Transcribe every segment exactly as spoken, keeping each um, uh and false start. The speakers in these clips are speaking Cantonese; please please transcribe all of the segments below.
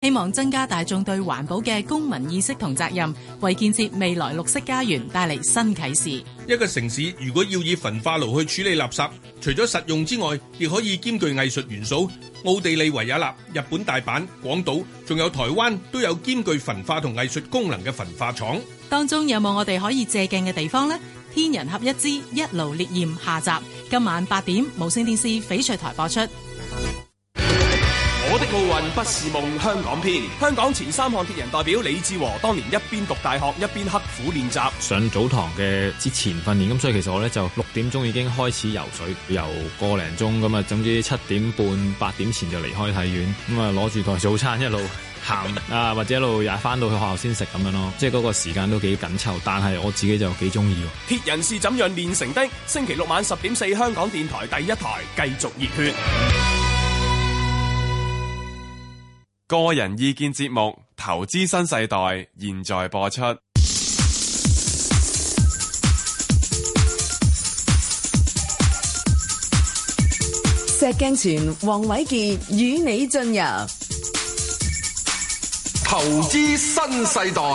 希望增加大眾對環保嘅公民意識同責任，為建設未來綠色家園帶嚟新啟示。 一個城市如果要以焚化爐去處理垃圾，除咗實用之外，亦可以兼具藝術元素。奧地利維也納、日本大阪、廣島，仲有台灣都有兼具焚化同藝術功能嘅焚化廠。 當中有冇我哋可以借鏡嘅地方呢？天人合一之一爐烈焰下集，今晚八點無線電視翡翠台播出。 我的奧運不是夢香港篇，香港前三項鐵人代表李志和當年一邊讀大學一邊刻苦練習。 上早堂嘅之前訓練，咁所以其實我咧就六點鐘已經開始游水，游個零鐘咁啊，總之七點半八點前就離開體院，咁啊攞住台早餐一路行啊，或者一路也翻到去學校先食咁樣咯，即係嗰個時間都幾緊湊，但係我自己就幾中意。 鐵人是怎樣練成的？星期六晚十點四，香港電台第一台繼續熱血。 個人意見節目《投資新世代》現在播出。 石鏡泉、黃偉傑與你進入《 投資新世代》。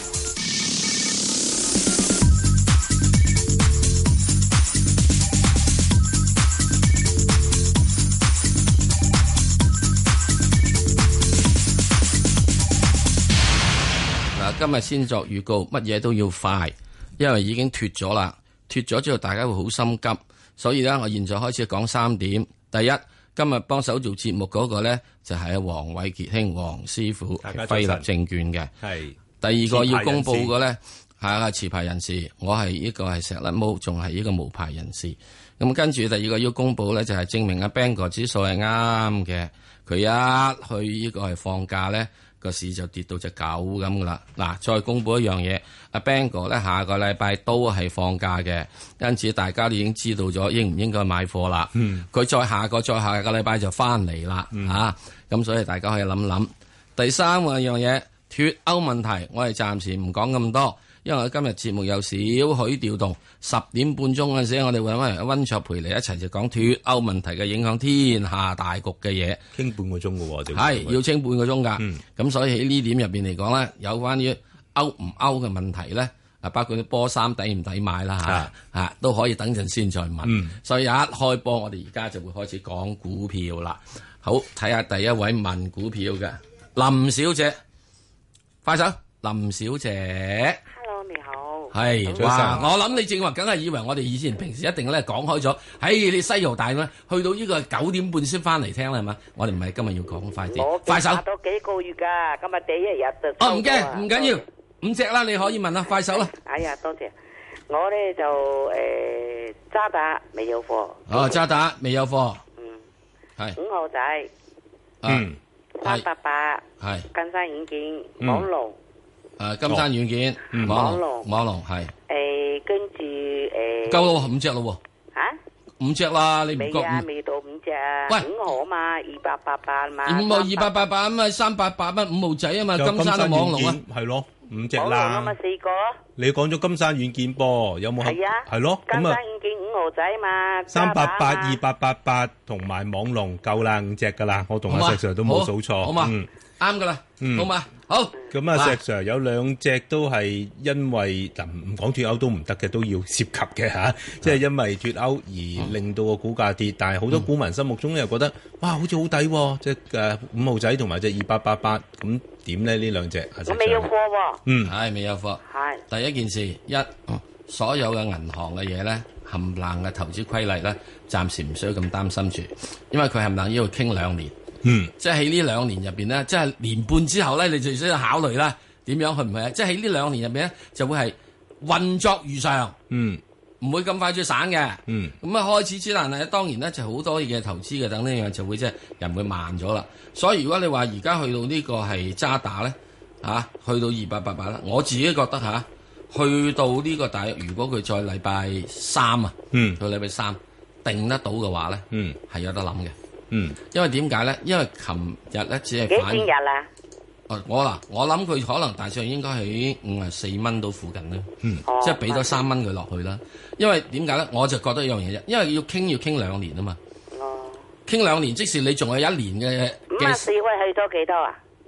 今日先作預告，乜嘢都要快，因為已經脫咗啦。脫咗之後，大家會好心急，所以咧，我現在開始講三點。第一，今日幫手做節目嗰個咧，就係黃偉傑兄黃師傅，係輝立證券嘅。係。第二個要公佈嘅咧，係啊持牌人士，我係呢個係石甩毛，仲係呢個無牌人士。咁跟住第二個要公佈咧，就係證明阿 Bang 哥指數係啱嘅。佢一去呢個係放假咧，個市就跌到隻狗咁噶啦。嗱，再公佈一樣嘢，阿 Bang 哥咧下個禮拜都係放假嘅，因此大家都已經知道咗應唔應該買貨啦。嗯，佢再下個再下個禮拜就翻嚟啦。嗯，嚇咁，所以大家可以諗諗。第三個樣嘢，脫歐問題，我哋暫時唔講咁多，因為我今日節目有少許調動。十點半鐘嗰陣時，我哋會揾温卓培嚟一齊就講脫歐問題嘅影響天下大局嘅嘢， 傾半個鐘嘅喎， 係要傾半個鐘㗎。咁、嗯、所以喺呢點入邊嚟講咧，有關於歐唔歐嘅問題咧，啊包括啲波衫抵唔抵買啦嚇嚇，都可以等陣先再問。嗯、所以一開波，我哋而家就會開始講股票啦。好，睇下第一位問股票嘅林小姐，快手，林小姐。係，哇！我諗你正話，梗係以為我哋以前平時一定咧講開咗，喺你西遊大咩？去到呢個九點半先翻嚟聽啦，係嘛？我哋唔係今日要講快啲，快手。 我都幾個月噶，今日第一日就。 哦，唔驚，唔緊要，五隻啦，你可以問啦，快手啦。 哎呀，多謝。我咧就誒渣打未有貨。 哦，渣打未有貨。 嗯。 係。 五號仔。 嗯。 三八八。 係。 金山軟件。網龍。 誒，金山軟件，網龍，網龍係。 誒，跟住誒。 夠咯，五隻咯。 吓？ 五隻啦，你唔覺？ 未啊，未到五隻啊。 喂， 五號啊嘛，二八八八嘛。 五號二八八八啊嘛，三八八蚊五號仔啊嘛，金山網龍啊。 係咯，五隻啦。 網龍啊嘛，四個。 你講咗金山軟件噃，有冇？ 係啊。 係咯， 金山軟件五號仔啊嘛。 三八八二八八八同埋網龍夠啦，五隻噶啦，我同阿石 Sir 都冇數錯。 好嘛，啱噶啦，好嘛。好， 咁啊，石 Sir 有兩隻都係因為嗱唔講脫歐都唔得嘅，都要涉及嘅嚇，即係因為脫歐而令到個股價跌，但係好多股民心目中又覺得哇，好似好抵喎，即係誒五號仔同埋隻二八八八，咁點咧呢兩隻？ 我未有貨喎。 嗯，係未有貨。 係。 第一件事，一所有嘅銀行嘅嘢咧，冚唪唥嘅投資規例咧，暫時唔需要咁擔心住，因為佢冚唪唥要傾兩年。嗯，即係喺呢兩年入邊咧，即係年半之後咧，你就需要考慮啦，點樣去唔去啊？即係喺呢兩年入邊咧，就會係運作如常，嗯，唔會咁快就散嘅，嗯，咁啊開始之難係當然咧就好多嘢投資嘅，等呢樣就會即係人會慢咗啦。所以如果你話而家去到呢個係渣打咧，嚇、啊，去到二八八八啦，我自己覺得嚇、啊，去到呢個大約，如果佢再禮拜三啊，嗯，到禮拜三定得到嘅話咧，嗯，係有得諗嘅。嗯，因為點解咧？因為琴日咧只係反幾錢日啦？ 哦，我嗱，我諗佢可能大致應該喺五十四蚊到附近啦。嗯，即係俾多三蚊佢落去啦。因為點解咧？我就覺得一樣嘢啫，因為要傾要傾兩年啊嘛。哦，傾兩年，即使你仲有一年嘅。 五十四可以去到幾多啊？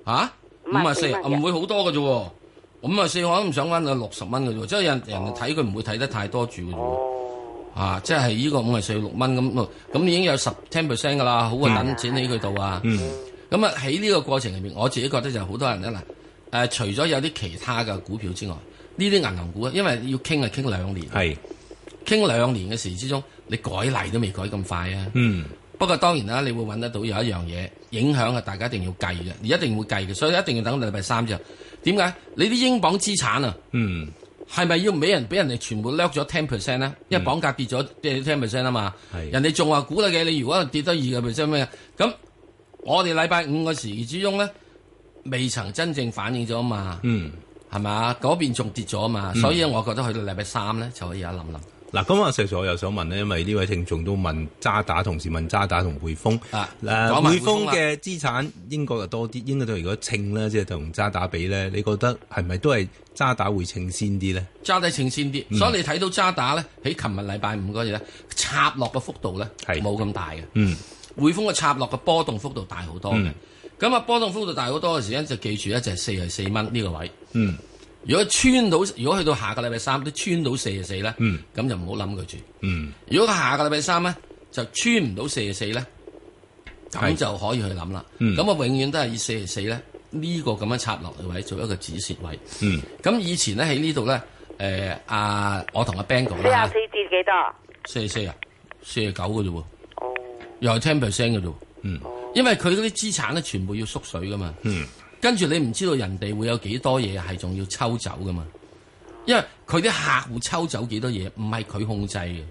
嚇五啊四唔會好多嘅啫喎，五啊四我都唔想揾到六十蚊嘅啫喎，即係人人哋睇佢唔會睇得太多住嘅啫喎，啊即係呢個五啊四六蚊咁，咁已經有十 ten percent 㗎啦，好過等錢喺佢度啊。咁啊喺呢個過程入面，我自己覺得就好多人咧嗱。誒、呃，除咗有啲其他嘅股票之外，呢啲銀行股，因為要傾係傾兩年，係傾兩年嘅時之中，你改例都未改咁快啊。嗯。不過當然啦，你會揾得到有一樣嘢影響啊，大家一定要計嘅，你一定會計嘅，所以一定要等到禮拜三之後。點解？你啲英鎊資產啊，嗯，係咪要俾人俾人哋全部掠咗 ten percent 咧？因為鎊價跌咗即係 ten percent 啊嘛。係。人哋仲話估得嘅，你如果跌得二個 percent 咩？咁我哋禮拜五嘅時之中咧。未曾真正反映咗嘛，嗯，係咪？嗰邊仲跌咗嘛，嗯、所以我覺得去到禮拜三咧就可以有一諗諗。 嗱，咁啊，石 Sir 我又想問咧，因為呢位聽眾都問渣打，同時問渣打同匯豐。啊，誒、呃，匯豐嘅資產應該又多啲，應該都如果稱咧，即係同渣打比咧，你覺得係咪都係渣打會稱先啲咧？ 渣打稱先啲，嗯、所以你睇到渣打咧喺琴日禮拜五嗰日咧插落嘅幅度咧係冇咁大嘅。嗯，匯豐嘅插落嘅波動幅度大好多嘅。嗯咁啊，波動幅度大好多嘅時間就記住咧，就係四十四蚊呢個位。嗯，如果穿到，如果去到下個禮拜三都穿到四十四咧，嗯，咁就唔好諗佢住。嗯，如果下個禮拜三咧就穿唔到四十四咧，咁就可以去諗啦。嗯，咁啊，永遠都係以四十四咧呢個咁樣插落嘅位做一個止蝕位。嗯，咁以前咧喺呢度咧，誒、呃、啊，我同阿 Bang 講啦， 四十四跌幾多？ 四十四啊，四十九嘅啫喎。哦，又係 ten percent 嘅啫。嗯。因為佢嗰啲資產咧，全部要縮水噶嘛，嗯，跟住你唔知道人哋會有幾多嘢係仲要抽走噶嘛，因為佢啲客戶抽走幾多嘢，唔係佢控制嘅，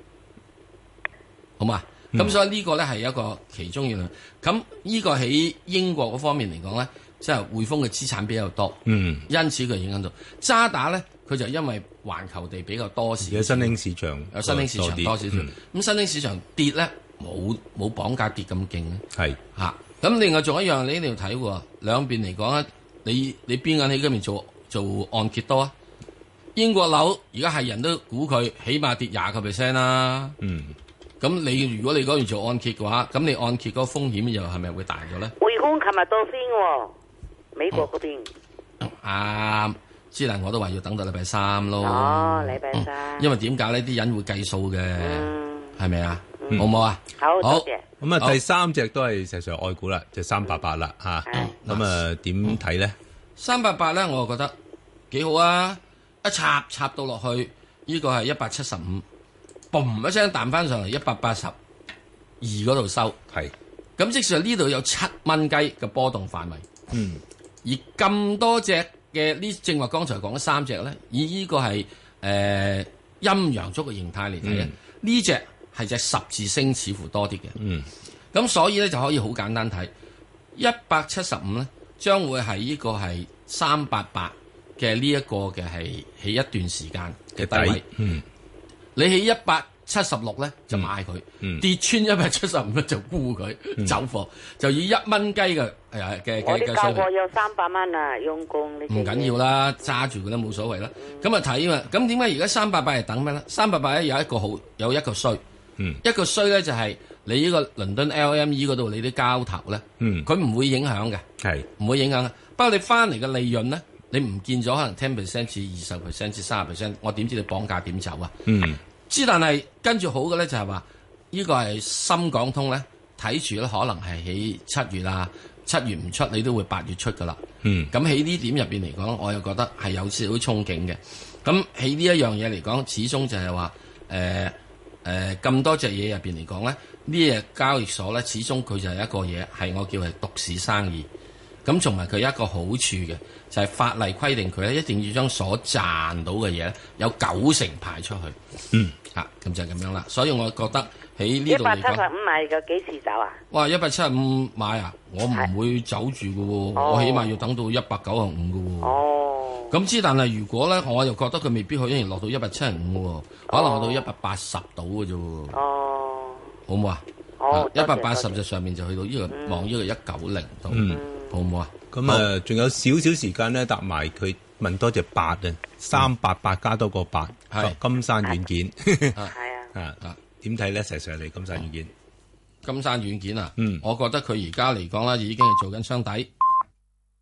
好嘛？咁、嗯、所以呢個咧係一個其中一樣。咁呢個喺英國嗰方面嚟講咧，即係匯豐嘅資產比較多，嗯，因此佢影響到渣打咧，佢就因為環球地比較多時， 而家新興市場有新興市場多少少，咁、嗯、新興市場跌咧。冇冇綁架跌咁勁咧，係嚇。咁、啊、另外仲有一樣，你一定要睇喎。兩邊嚟講咧，你你邊間喺嗰邊做做按揭多啊？英國樓而家係人都估佢起碼跌廿個 percent 啦。嗯。咁你如果你嗰邊做按揭嘅話，咁你按揭嗰個風險又係咪會大咗咧？ 匯豐琴日到先喎，美國嗰邊。 啱，之能我都話要等到禮拜三咯。 哦，禮拜三。 因為點解呢啲人會計數嘅，係咪啊？嗯、好唔好啊？ 好，多謝。 咁啊，第三隻都係實上愛股啦，就三八八啦吓。咁啊，點睇咧？ 三八八咧，我就覺得幾好啊！一插插到落去，呢、這個係一百七十五，嘣一聲彈翻上嚟一百八十二嗰度收。係。咁即係呢度有七蚊雞嘅波動範圍。嗯。而咁多隻嘅呢，正話剛才講咗三隻咧，以呢個係誒陰陽燭嘅形態嚟睇咧，呢隻。係隻十字星似乎多啲嘅，嗯，咁所以咧就可以好簡單睇，一百七十五咧將會係呢個係三八八嘅呢一個嘅係喺一段時間嘅低位，嗯，你喺一百七十六咧就買佢，嗯，跌穿一百七十五咧就沽佢，嗯，走貨，就以一蚊雞嘅誒嘅嘅我啲交貨有三百蚊啊，用工唔緊要啦，揸住佢都冇所謂啦。咁啊睇啊，咁點解而家三八八係等咩咧？三八八咧有一個好，有一個衰。嗯，一個衰咧就係你呢個倫敦 L M E 嗰度你啲交投咧，嗯，佢唔會影響嘅，係唔會影響嘅。不過你翻嚟嘅利潤咧，你唔見咗可能 ten percent 至二十 percent 至三十 percent， 我點知你綁架點走啊？嗯，之但係跟住好嘅咧就係話呢個係深港通咧，睇住咧可能係喺七月啊，七月唔出你都會八月出噶啦。嗯，咁喺呢點入邊嚟講，我又覺得係有少少憧憬嘅。咁喺呢一樣嘢嚟講，始終就係話誒。呃誒咁、呃、多隻嘢入邊嚟講咧，呢隻交易所咧，始終佢就係一個嘢，係我叫係獨市生意。咁同埋佢有一個好處嘅，就係、是、法例規定佢咧一定要將所賺到嘅嘢有九成派出去。嗯，嚇、啊，咁就係咁樣啦。所以我覺得喺呢度嚟講，一百七十五買嘅幾時走啊？哇！一百七十五買啊，我唔會走住嘅喎，哦、我起碼要等到一百九十五嘅喎。哦。咁之，但係如果咧，我又覺得佢未必可以落到一百七十五喎，可能落到一百八十到嘅啫喎。哦，好唔好啊？好，一百八十就上面就去到呢個望呢個一九零度，好唔好啊？ 咁啊，仲有少少時間咧，答埋佢問多隻八啊，三八八加多個八，係金山軟件，係啊，啊點睇咧？石 Sir 嚟金山軟件， 金山軟件啊，嗯，我覺得佢而家嚟講咧，已經係做緊雙底。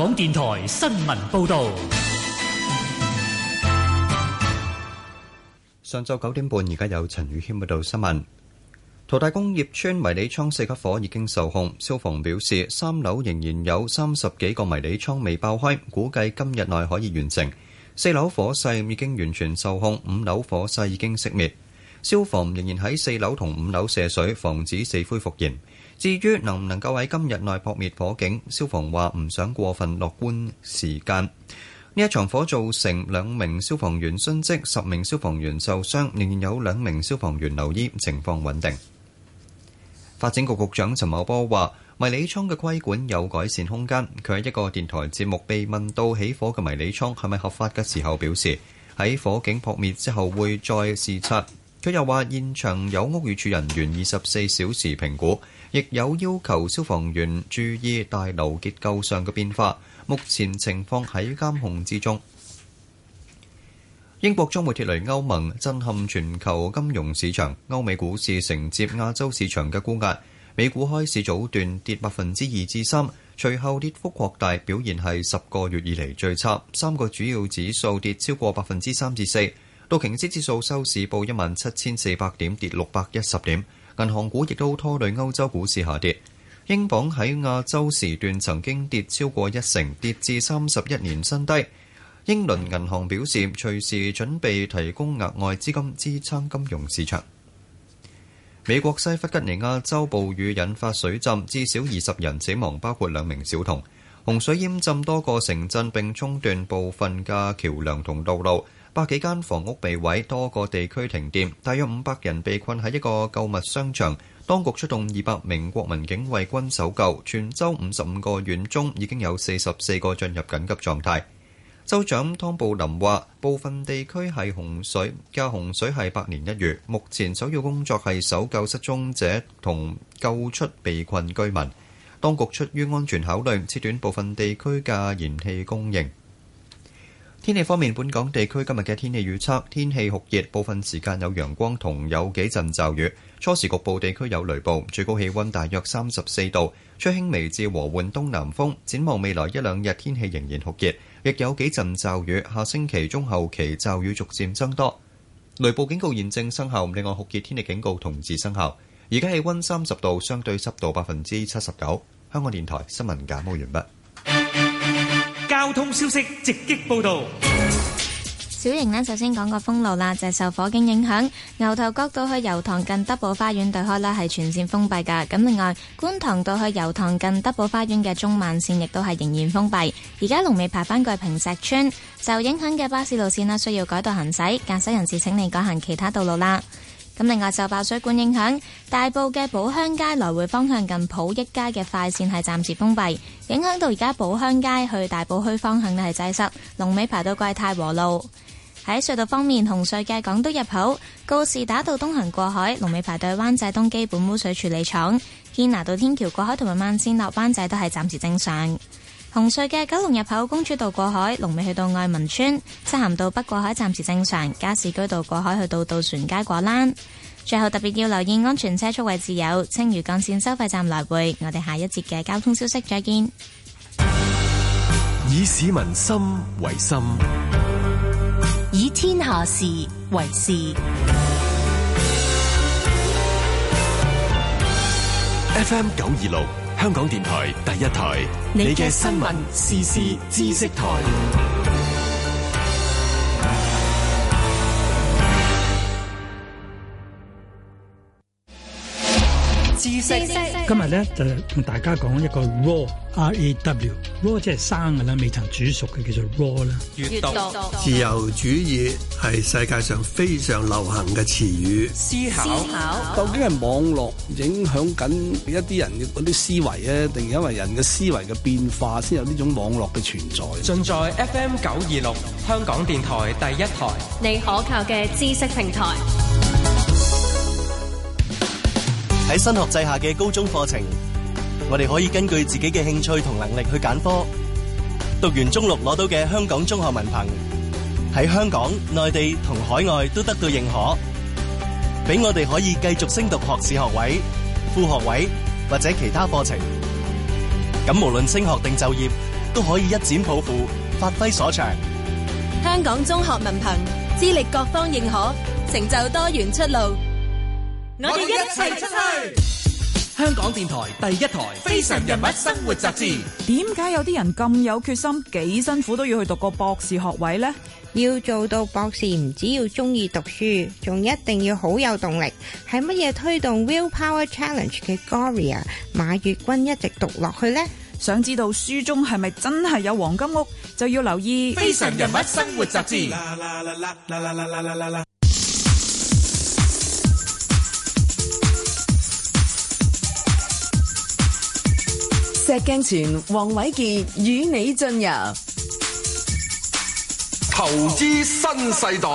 港電台新聞報道。 上晝九點半，而家有陳宇軒報道新聞。淘大工業村迷你倉四級火已經受控，消防表示三樓仍然有三十幾個迷你倉未爆開，估計今日內可以完成。四樓火勢已經完全受控，五樓火勢已經熄滅。消防仍然喺四樓同五樓射水，防止死灰復燃。至於能唔能夠喺今日內撲滅火警，消防話唔想過分樂觀時間。呢一場火造成兩名消防員殉職，十名消防員受傷，仍然有兩名消防員留醫，情況穩定。發展局局長陳茂波話：迷你倉嘅規管有改善空間。佢喺一個電台節目被問到起火嘅迷你倉係咪合法嘅時候，表示喺火警撲滅之後會再視察。佢又話現場有屋宇署人員二十四小時評估，亦有要求消防員注意大樓結構上嘅變化。目前情況喺監控之中。英國將會脫離歐盟，震撼全球金融市場。歐美股市承接亞洲市場嘅沽壓，美股開市早段跌百分之二至三，隨後跌幅擴大，表現係十個月以嚟最差。三個主要指數跌超過百分之三至四。道瓊斯指數收市報一萬七千四百點，跌六百一十點。銀行股亦都拖累歐洲股市下跌。英鎊喺亞洲時段曾經跌超過一成，跌至三十一年新低。英倫銀行表示，隨時準備提供額外資金支撐金融市場。美國西弗吉尼亞州暴雨引發水浸，至少二十人死亡，包括兩名小童。洪水淹浸多個城鎮並沖斷部分嘅橋梁同道路，百幾間房屋被毀，多個地區停電，大約五百人被困喺一個購物商場。當局出動二百名國民警衛軍搜救，全州五十五個縣中已經有四十四個進入緊急狀態。州長湯布林話：部分地區係洪水，嘅洪水係百年一遇。目前首要工作係搜救失蹤者同救出被困居民。當局出於安全考慮，切斷部分地區嘅燃氣供應。天氣方面，本港地區今日嘅天氣預測：天氣酷熱，部分時間有陽光同有幾陣驟雨，初時局部地區有雷暴，最高氣溫大約三十四度，吹輕微至和緩東南風。展望未來一兩日天氣仍然酷熱，亦有幾陣驟雨，下星期中後期驟雨逐漸增多。雷暴警告現正生效，另外酷熱天氣警告同時生效。而家氣溫三十度，相對濕度百分之七十九。香港電台新聞簡報完畢。 交通消息直擊報道。 小瑩呢，首先講個封路啦，就係、是、受火警影響，牛頭角道去油塘近德寶花園對開呢係全線封閉㗎。咁另外，觀塘道去油塘近德寶花園嘅中慢線亦都係仍然封閉。而家龍尾排返過坪石村，受影響嘅巴士路線呢需要改道行駛，駕駛人士請你改行其他道路啦。咁另外，受爆水管影響，大埔嘅寶鄉街來回方向近普益街嘅快線係暫時封閉，影響到而家寶鄉街去大埔墟方向呢係擠塞，龍尾排到過太和路。喺隧道方面，紅隧嘅港島入口告士打道東行過海，龍尾排到灣仔東基本污水處理廠；堅拿道天橋過海同埋慢線落灣仔都係暫時正常。紅隧嘅九龍入口公主道過海，龍尾去到愛民村；漆咸道北過海暫時正常；加士居道過海去到渡船街果欄。最後特別要留意安全車速位置有青嶼幹線收費站來回。我哋下一節嘅交通消息再見。 以市民心為心， 以天下事為事。 F M 九二六香港電台第一台，你嘅新聞時事知識台。 知識今日咧就同大家講一個 raw R A W raw 即係生嘅啦，未曾煮熟嘅叫做 raw 啦。 閱讀自由主義係世界上非常流行嘅詞語。 思考究竟係網絡影響緊一啲人嘅嗰啲思維咧，定因為人嘅思維嘅變化先有呢種網絡嘅存在？ 盡在 F M 九二六香港電台第一台， 你可靠嘅知識平台。 喺新學制下嘅高中課程，我哋可以根據自己嘅興趣同能力去揀科。讀完中六攞到嘅香港中學文憑，喺香港、內地同海外都得到認可，俾我哋可以繼續升讀學士學位、副學位或者其他課程。咁無論升學定就業， 都可以一展抱負，發揮所長。 香港中學文憑資歷各方認可，成就多元出路。 我哋一齊出去。香港電台第一台《非常人物生活雜誌》。 點解有啲人咁有決心，幾辛苦都要去讀個博士學位呢？ 要做到博士，唔只要中意讀書，仲一定要好有動力。係乜嘢推動 Willpower Challenge 嘅 Gloria 馬月君一直讀落去呢？ 想知道書中係咪真係有黃金屋，就要留意《 非常人物生活雜誌》。 石鏡泉、黃偉傑與你進入投資新世代。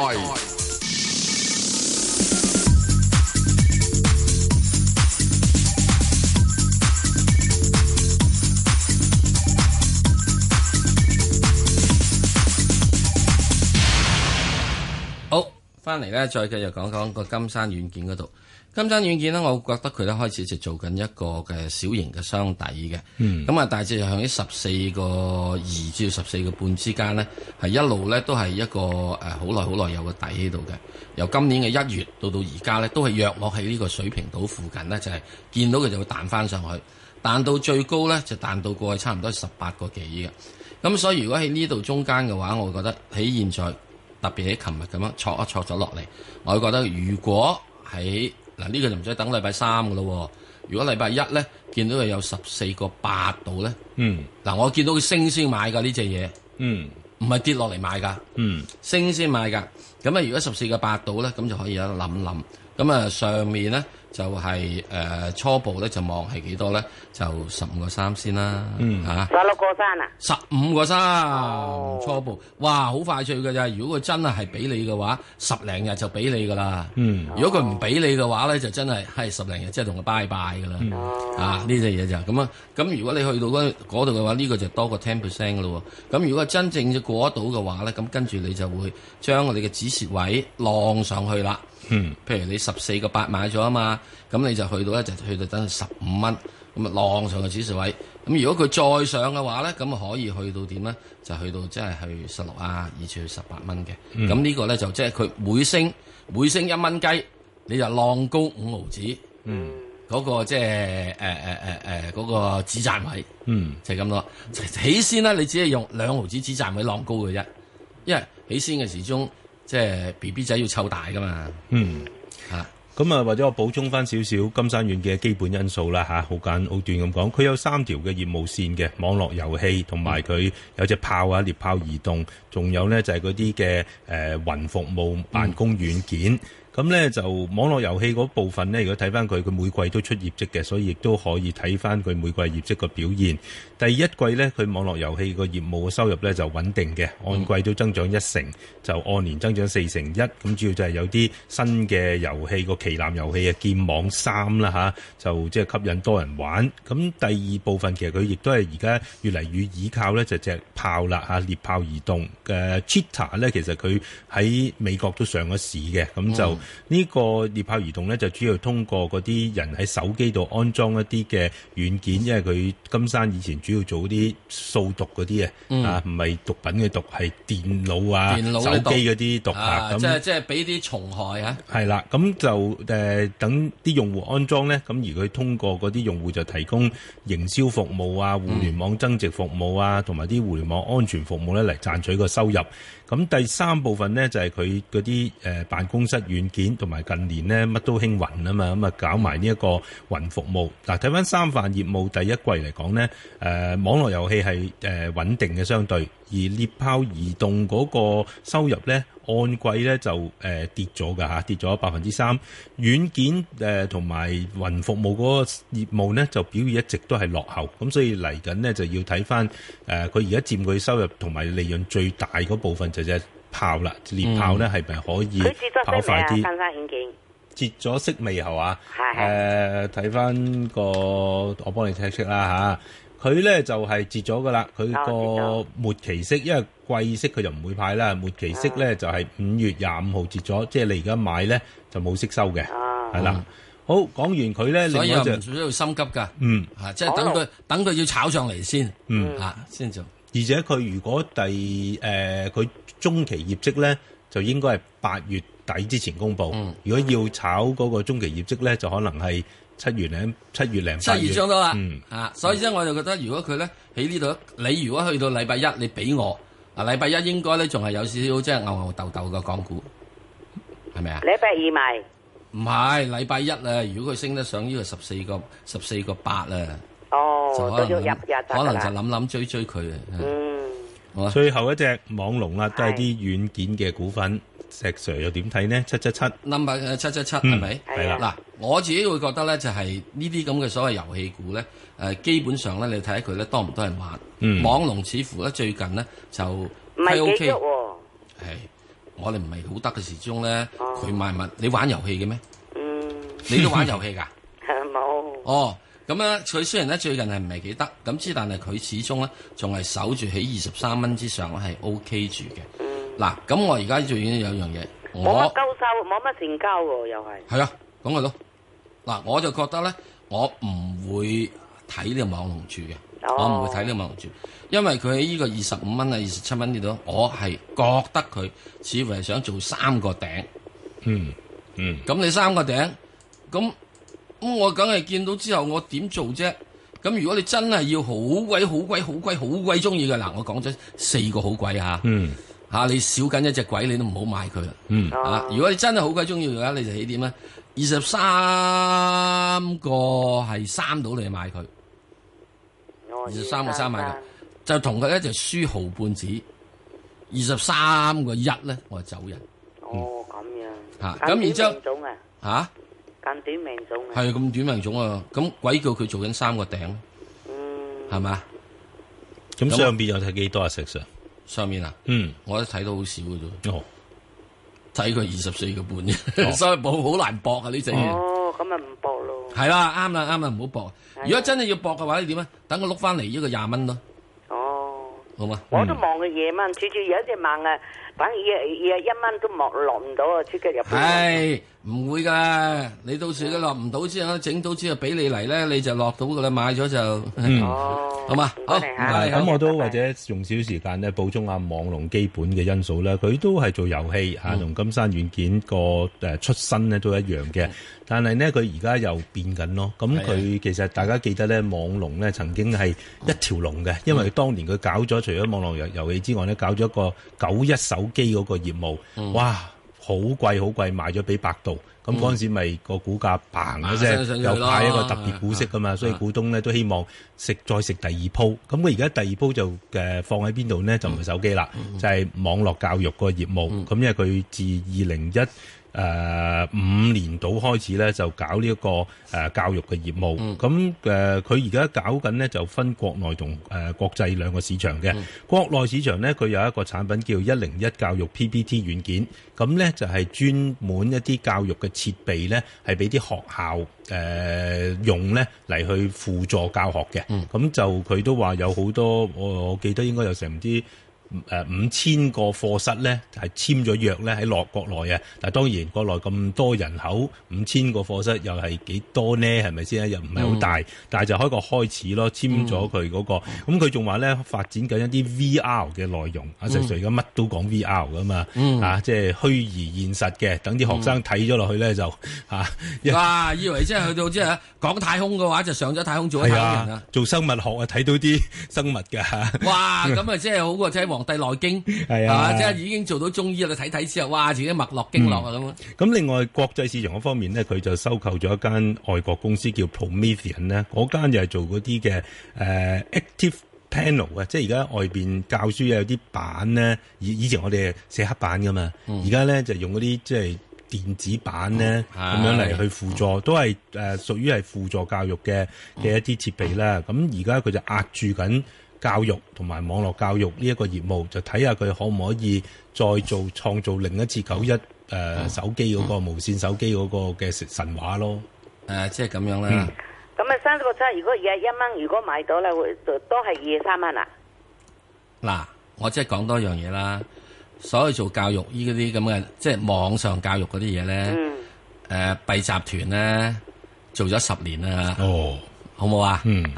好，翻嚟咧，再繼續講講個金山軟件嗰度。金山軟件咧，我覺得佢咧開始就做緊一個嘅小型嘅箱底嘅，咁啊、嗯，大致向喺十四個二至到十四個半之間咧，係一路咧都係一個誒好耐好耐有個底喺度嘅。由今年嘅一月到到而家咧，都係約莫喺呢個水平島附近咧，就係、是、見到佢就會彈翻上去，彈到最高咧就彈到過去差唔多十八個幾嘅。咁所以如果喺呢度中間嘅話，我覺得喺現在特別喺琴日咁樣挫一挫咗落嚟，我覺得如果喺嗱，呢個就唔使等禮拜三嘅咯。如果禮拜一咧見到佢有十四個八度咧，嗯，嗱我見到佢升先買㗎呢隻嘢，嗯，唔係跌落嚟買㗎，嗯，升先買㗎。咁啊，如果十四個八度咧，咁就可以有得諗諗。咁啊，上面咧就係、是、誒、呃、初步咧就望係幾多咧？就十五個三先啦，嗯嚇， 十六個三啊， 十五個三初步，哇，好快脆㗎咋！如果佢真係係俾你嘅話，十零日就俾你㗎啦。嗯，如果佢唔俾你嘅話咧，就真係係十零日即係同佢拜拜㗎啦。嗯、啊，呢隻嘢就咁啊。咁如果你去到嗰度嘅話，呢、呢個就多過 ten percent 㗎咯。咁如果真正就過得到嘅話咧，咁跟住你就會將我哋嘅止蝕位浪上去啦。嗯，譬如你十四個八買咗啊嘛，咁你就去到咧就去到等十五蚊，咁啊浪上個指數位。咁如果佢再上嘅話咧，咁啊可以去到點咧？就去到即係去十六啊，以至去十八蚊嘅。咁、嗯、呢個咧就即係佢每升每升一蚊雞，你就浪高五毫子。嗯，嗰、嗰個即係誒誒誒誒嗰個止賺位。嗯，就係咁多。起先咧，你只係用兩毫子止賺位浪高嘅啫，因為起先嘅時鐘。即係 B B 仔要湊大噶嘛，嗯嚇， 咁啊或者我補充翻少少金山軟嘅基本因素啦嚇，好簡好短咁講，佢有三條嘅業務線嘅網絡遊戲，同埋佢有隻炮啊獵豹移動，仲有咧就係嗰啲嘅誒雲服務辦公軟件。嗯咁咧就網絡遊戲嗰部分咧，如果睇翻佢，佢每季都出業績嘅，所以亦都可以睇翻佢每季業績個表現。第一季咧，佢網絡遊戲個業務嘅收入咧就穩定嘅，按季都增長一成，就按年增長四成一。咁主要就係有啲新嘅遊戲，個旗艦遊戲啊，劍網三啦嚇，就即係吸引多人玩。咁第二部分其實佢亦都係而家越嚟越倚靠咧，就隻炮啦嚇，獵豹移動嘅 Cheetah 咧，其實佢喺美國都上咗市嘅，咁就。嗯呢個獵豹移動咧就主要通過嗰啲人喺手機度安裝一啲嘅軟件，因為佢金山以前主要做啲掃毒嗰啲、嗯、啊，唔係毒品嘅毒，係電腦啊、電腦手機嗰啲毒啊，咁即係即係俾啲蟲害啊。 係啦，咁就誒、呃、等啲用戶安裝咧，咁而佢通過嗰啲用戶就提供營銷服務啊、互聯網增值服務啊，同埋啲互聯網安全服務咧嚟賺取個收入。咁第三部分呢，就係佢嗰啲誒辦公室軟件，同埋近年呢乜都興雲啊嘛，咁啊搞埋呢一個雲服務。嗱，睇翻三範業務第一季嚟講呢，誒、呃、網絡遊戲係誒穩定嘅相對，而獵豹移動嗰個收入呢，按季呢就誒、呃、跌咗㗎嚇，跌咗百分之三。軟件誒同埋雲服務嗰個業務呢，就表現一直都係落後，咁所以嚟緊呢，就要睇翻誒佢而家佔佢收入同埋利潤最大嗰部分就隻炮啦，獵豹呢係咪可以跑快啲？截咗息未係嘛？誒睇翻個我幫你 check check 啦嚇，佢咧就係截咗噶啦，佢個末期息，因為季息佢就唔會派啦，末期息咧就係五月廿五號截咗，即係你而家買咧就冇息收嘅，係啦。好，講完佢咧，另外就唔需要心急㗎， 嗯嚇，即係等佢等佢要炒上嚟先，嗯嚇先做。 而且佢如果第誒佢、呃、中期業績咧，就應該係八月底之前公佈。嗯、如果要炒嗰個中期業績咧，就可能係七月零七月零八月。 七月上到啦， 嗯啊，所以咧我就覺得，如果佢咧喺呢度，你如果去到禮拜一，你俾我啊，禮拜一應該咧仲係有少少即係牛牛豆豆嘅港股，係咪啊？ 禮拜二賣。 唔係禮拜一啊！如果佢升得上呢個十四個十四個八啊， 哦， 就可能都要入入可能就諗諗追追佢啊。 嗯， 好最後一隻網龍啦，都係啲軟件嘅股份，石 Sir 又點睇呢？七七七 number 七七七係咪？ 係啦。 嗱，我自己會覺得咧，就係呢啲咁嘅所謂遊戲股咧，誒基本上咧，你睇下佢咧多唔多人玩？ 嗯， 網龍似乎咧最近咧就唔係幾喐喎。 係。我哋唔係好得嘅時鐘咧，佢買物，你玩遊戲嘅咩？嗯，你都玩遊戲㗎？ 冇。 哦，咁咧，佢雖然咧最近係唔係幾得，咁之但係佢始終咧仲係守住喺二十三蚊之上咧係 O K 住嘅。嗯。嗱，咁我而家最緊要有一樣嘢，我冇乜交收，冇乜成交喎，又係。 係啊，咁咪咯。嗱，我就覺得咧，我唔會睇呢個網龍住嘅。我唔會睇呢個網龍住，因為佢喺呢個二十五蚊啊、二十七蚊呢度，我係覺得佢似乎係想做三個頂。 嗯嗯。 咁你三個頂，咁咁我梗係見到之後，我點做啫？咁如果你真係要好鬼好鬼好鬼好鬼中意嘅，嗱，我講咗四個好鬼嚇。 嗯。 嚇、啊，你少緊一隻鬼，你都唔好買佢啦。 嗯。 啊，如果你真係好鬼中意嘅話，你就起點咧？二十三個係三到你買佢。二十三個三買嘅，就同佢咧就輸毫半子。二十三個一咧，我就走人。 哦，咁樣。 嚇，咁然之後嚇， 咁短命種啊。 係咁短命種啊！咁鬼叫佢做緊三個頂， 嗯， 係嘛？ 咁上邊又睇幾多啊？石 Sir？ 上面啊？ 嗯， 我都睇到好少嘅啫。 哦， 睇佢二十四個半啫，所以冇好難搏啊呢隻嘢。 哦，咁咪唔搏咯。 係啦，啱啦，啱啦，唔好搏。如果真係要搏嘅話，你點啊？等我碌翻嚟呢個廿蚊咯。 哦， 好嘛？ 我都望佢夜蚊，處處有一隻猛啊，反而一一蚊都落落唔到啊，即刻入。 係唔會噶？你到時佢落唔到之後，整到之後俾你嚟咧，你就落到噶啦，買咗就。哦，好嘛？好。 咁我都或者用少少時間咧補充下網龍基本嘅因素啦。佢都係做遊戲嚇，同金山軟件個誒出身咧都一樣嘅。但係呢，佢而家又變緊咯。咁佢其實大家記得咧，網龍咧曾經係一條龍嘅，因為當年佢搞咗除咗網絡遊遊戲之外咧，搞咗一個九一手機嗰個業務，嗯、哇，好貴好貴，賣咗俾百度。咁嗰陣時咪個股價嘭嘅啫，又派一個特別股息噶嘛，所以股東咧都希望食再食第二鋪。咁佢而家第二鋪就誒放喺邊度呢？就唔係手機啦，嗯、就係網絡教育個業務。咁、嗯、因為佢自二零一誒五年度開始咧，就搞呢一個誒教育嘅業務。咁誒佢而家搞緊呢，就分國內同誒國際兩個市場嘅。嗯、國內市場咧，佢有一個產品叫一零一教育 P P T 軟件。咁咧就係專門一啲教育嘅設備咧，係俾啲學校誒、呃、用咧嚟去輔助教學嘅。咁、嗯、就佢都話有好多，我我記得應該有成唔知。誒五千個課室咧係簽咗約咧喺落國內啊，但係當然國內咁多人口，五千個課室又係幾多呢？係咪先？又唔係好大，嗯、但係就開個開始咯，簽咗佢嗰個。咁佢仲話咧發展緊一啲 V R 嘅內容，阿石 Sir 而家乜都講 V R 噶嘛，嗯、啊即係虛擬現實嘅，等啲學生睇咗落去咧就嚇。 哇！以為即係去到即係講太空嘅話，就上咗太空做咗太空人啊！ 做生物學啊，睇到啲生物㗎。 哇！咁啊，即係好過睇《黃帝內經》係啊，即係已經做到中醫啦！睇睇之後，哇，自己脈絡經絡啊咁。咁、 嗯、另外國際市場嗰方面呢，佢就收購咗一間外國公司叫 Promethean 咧，嗰間又係做嗰啲嘅誒 Active Panel 啊，即係而家外邊教書有啲板咧，以以前我哋寫黑板噶嘛，而家咧就用嗰啲即係電子版咧咁、嗯、樣嚟去輔助，嗯、都係誒、呃、屬於係輔助教育嘅嘅一啲設備啦。咁而家佢就壓住緊教育同埋網絡教育呢一個業務，就睇下佢可唔可以再做創造另一次九一誒、呃、手機嗰、那個、嗯、無線手機嗰個嘅神話咯。誒、 呃，即係咁樣啦。 咁啊、嗯，三個七，如果二十一蚊，如果買到咧，會都係二十三蚊啊。 嗱，我即係講多樣嘢啦。所謂做教育呢嗰啲咁嘅，即係網上教育嗰啲嘢咧，誒、嗯呃，敝集團咧做咗十年啦。哦，好冇啊？嗯，吓、啊。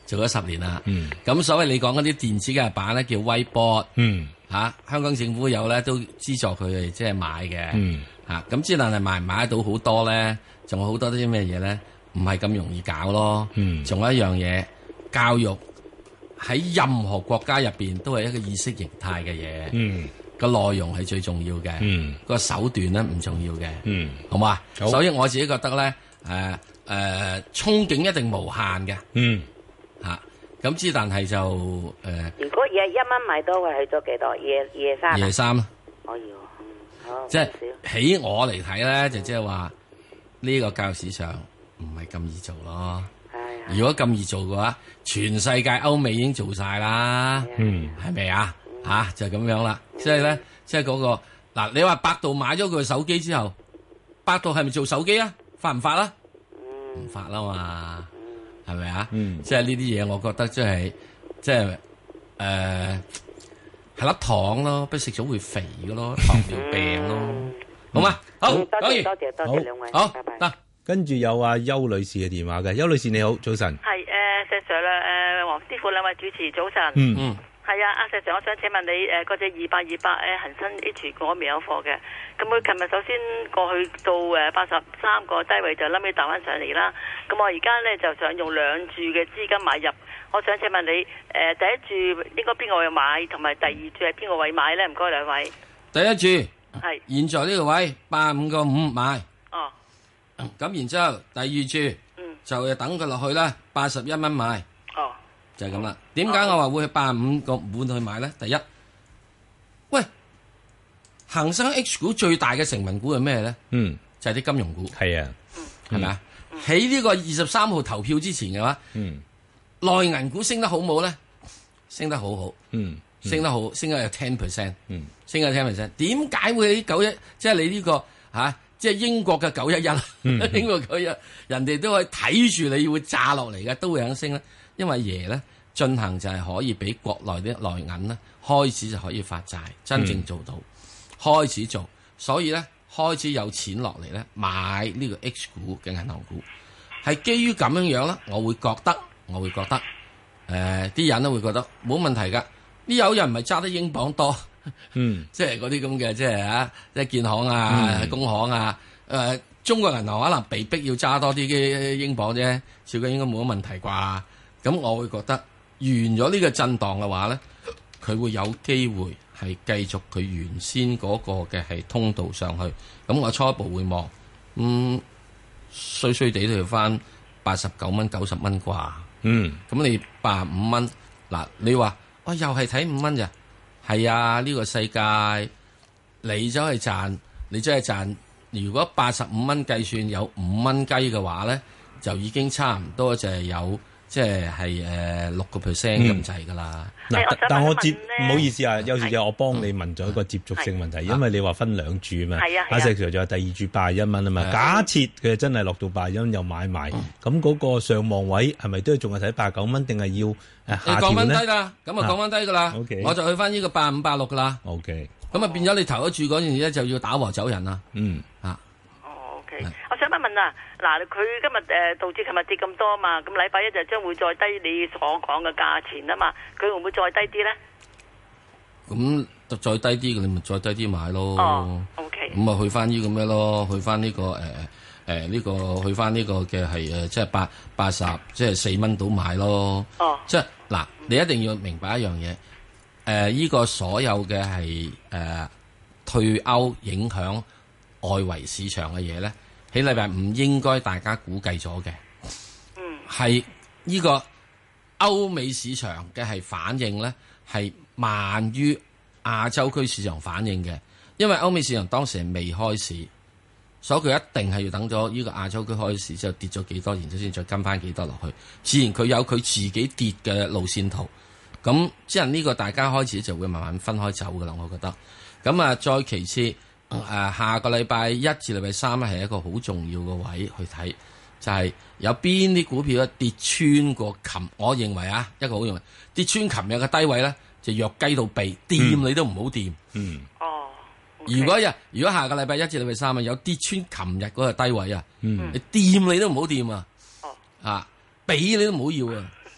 做咗十年啦。嗯，咁所謂你講嗰啲電子嘅板咧叫 Whiteboard。嗯，嚇、啊、香港政府有咧都資助佢哋即係買嘅。嗯，嚇咁之但係買唔買得到好多咧？仲有好多啲咩嘢咧？唔係咁容易搞咯。嗯，仲有一樣嘢，教育喺任何國家入邊都係一個意識形態嘅嘢。嗯。個內容係最重要嘅，嗯，個手段咧唔重要嘅，嗯，好嘛？所以我自己覺得咧，誒誒，憧憬一定無限嘅，嗯，吓咁之，但係就誒， 如果夜一蚊買到，會去咗幾多？夜夜三， 夜三啊， 可以，好， 即係喺我嚟睇咧，就即係話呢個教育市場唔係咁易做咯。係，如果咁易做嘅話，全世界歐美已經做晒啦，嗯，係咪啊？吓、啊、就咁、是、樣啦，即係咧，即係嗰個嗱，你話百度買咗佢手機之後，百度係咪做手機啊？發唔發啦？唔、嗯、發啦嘛，係咪啊？嗯、即係呢啲嘢，我覺得即係即係誒係粒糖咯，不食咗會肥嘅咯，糖尿病咯，嗯、好嘛？好， 多謝多謝多謝兩位， 好， 拜拜。 得， 跟住有阿邱女士嘅電話嘅，邱女士你好，早晨。 係誒、呃、石 Sir 啦，誒黃師傅兩位主持早晨。 嗯嗯。 係啊，阿石 Sir，我想請問你誒嗰隻二百二百誒恒生 H 股我未有貨嘅，咁佢琴日首先過去到誒八十三個低位就冧尾彈翻上嚟啦。咁我而家咧就想用兩注嘅資金買入，我想請問你誒、呃、第一注應該邊個位買，同埋第二注係邊個位買咧？唔該兩位。 第一注係現在呢個位八五個五買。 哦。 咁然之後第二注，嗯，就等佢落去啦，八十一蚊買。 哦。 就係咁啦。點解我話會去八五個半去買咧？第一，喂，恒生 H 股最大嘅成分股係咩咧？嗯，就係啲金融股。係啊，係咪啊？喺呢個二十三號投票之前嘅話，嗯，內銀股升得好冇咧？升得好好，嗯，升得好，升得有 ten percent，嗯，升咗 ten percent。點解會喺九一？即係你呢個吓，即係英國嘅九一一，英國九一，人哋都可以睇住你會炸落嚟嘅，都會肯升咧。因為爺咧進行就係可以俾國內啲內銀咧開始就可以發債，真正做到、嗯、開始做，所以咧開始有錢落嚟咧買呢個 H 股嘅銀行股，係基於咁樣樣咧，我會覺得我會覺得誒啲、呃、人都會覺得冇問題噶，呢有人唔係揸得英鎊多，嗯，即係嗰啲咁嘅即係啊，即係建行啊、嗯、工行啊，誒、呃、中國銀行可能被逼要揸多啲嘅英鎊啫，照計應該冇乜問題啩。咁我會覺得完咗呢個震盪嘅話咧，佢會有機會係繼續佢原先嗰個嘅係通道上去。咁我初步會望，嗯，衰衰地都要翻八十九蚊、九十蚊啩。嗯，咁你八十五蚊，嗱，你話我、哦、又係睇五蚊咋？係啊，呢、呢個世界你走去賺，你真係賺。如果八十五蚊計算有五蚊雞嘅話咧，就已經差唔多就係有。即係係誒六個 percent 咁滯㗎啦。嗱， 但我接唔好意思啊，有時就我幫你問咗一個接觸性問題，嗯、因為你話分兩注啊嘛。係啊，阿石 Sir 就話第二注八十一蚊啊嘛。假設佢真係落到八十一蚊又買埋，咁、嗯、嗰個上望位係咪都仲係睇八十九蚊，定係要誒下調咧？你降翻低啦，咁啊降翻低㗎啦。OK，我就去翻呢個八五八六㗎啦。OK，咁啊變咗你頭一注嗰陣時咧就要打和走人啦。嗯啊。 哦 OK，我想問問啊。嗱，佢今日誒導致琴日跌咁多嘛，咁禮拜一就將會再低你所講嘅價錢啊嘛，佢會唔會再低啲咧？ 咁就再低啲嘅，你咪再低啲買咯。 哦 ，OK。咁啊，去翻呢個咩咯？去翻呢、這個誒誒呢個去翻呢個嘅係誒，即係八八十，即係四蚊到買咯。哦。即係嗱，你一定要明白一樣嘢，誒、呃，呢、這個所有嘅係誒退歐影響外圍市場嘅嘢咧。喺禮拜五應該大家估計咗嘅，嗯，係呢個歐美市場嘅係反應咧，係慢於亞洲區市場反應嘅，因為歐美市場當時係未開市，所以佢一定係要等咗呢個亞洲區開市之後跌咗幾多，然之後先再跟翻幾多落去，自然佢有佢自己跌嘅路線圖，咁即係呢個大家開始就會慢慢分開走噶啦，我覺得，咁啊再其次。誒、呃，下個禮拜一至禮拜三咧係一個好重要嘅位去睇，就係、是、有邊啲股票咧跌穿過琴，我認為啊，一個好認為跌穿琴日嘅低位咧，就弱雞到痹，掂、嗯、你都唔好掂。嗯。哦。Okay. 如果日如果下個禮拜一至禮拜三啊，有跌穿琴日嗰個低位啊，嗯、你掂你都唔好掂啊。哦。啊，俾你都唔好要啊。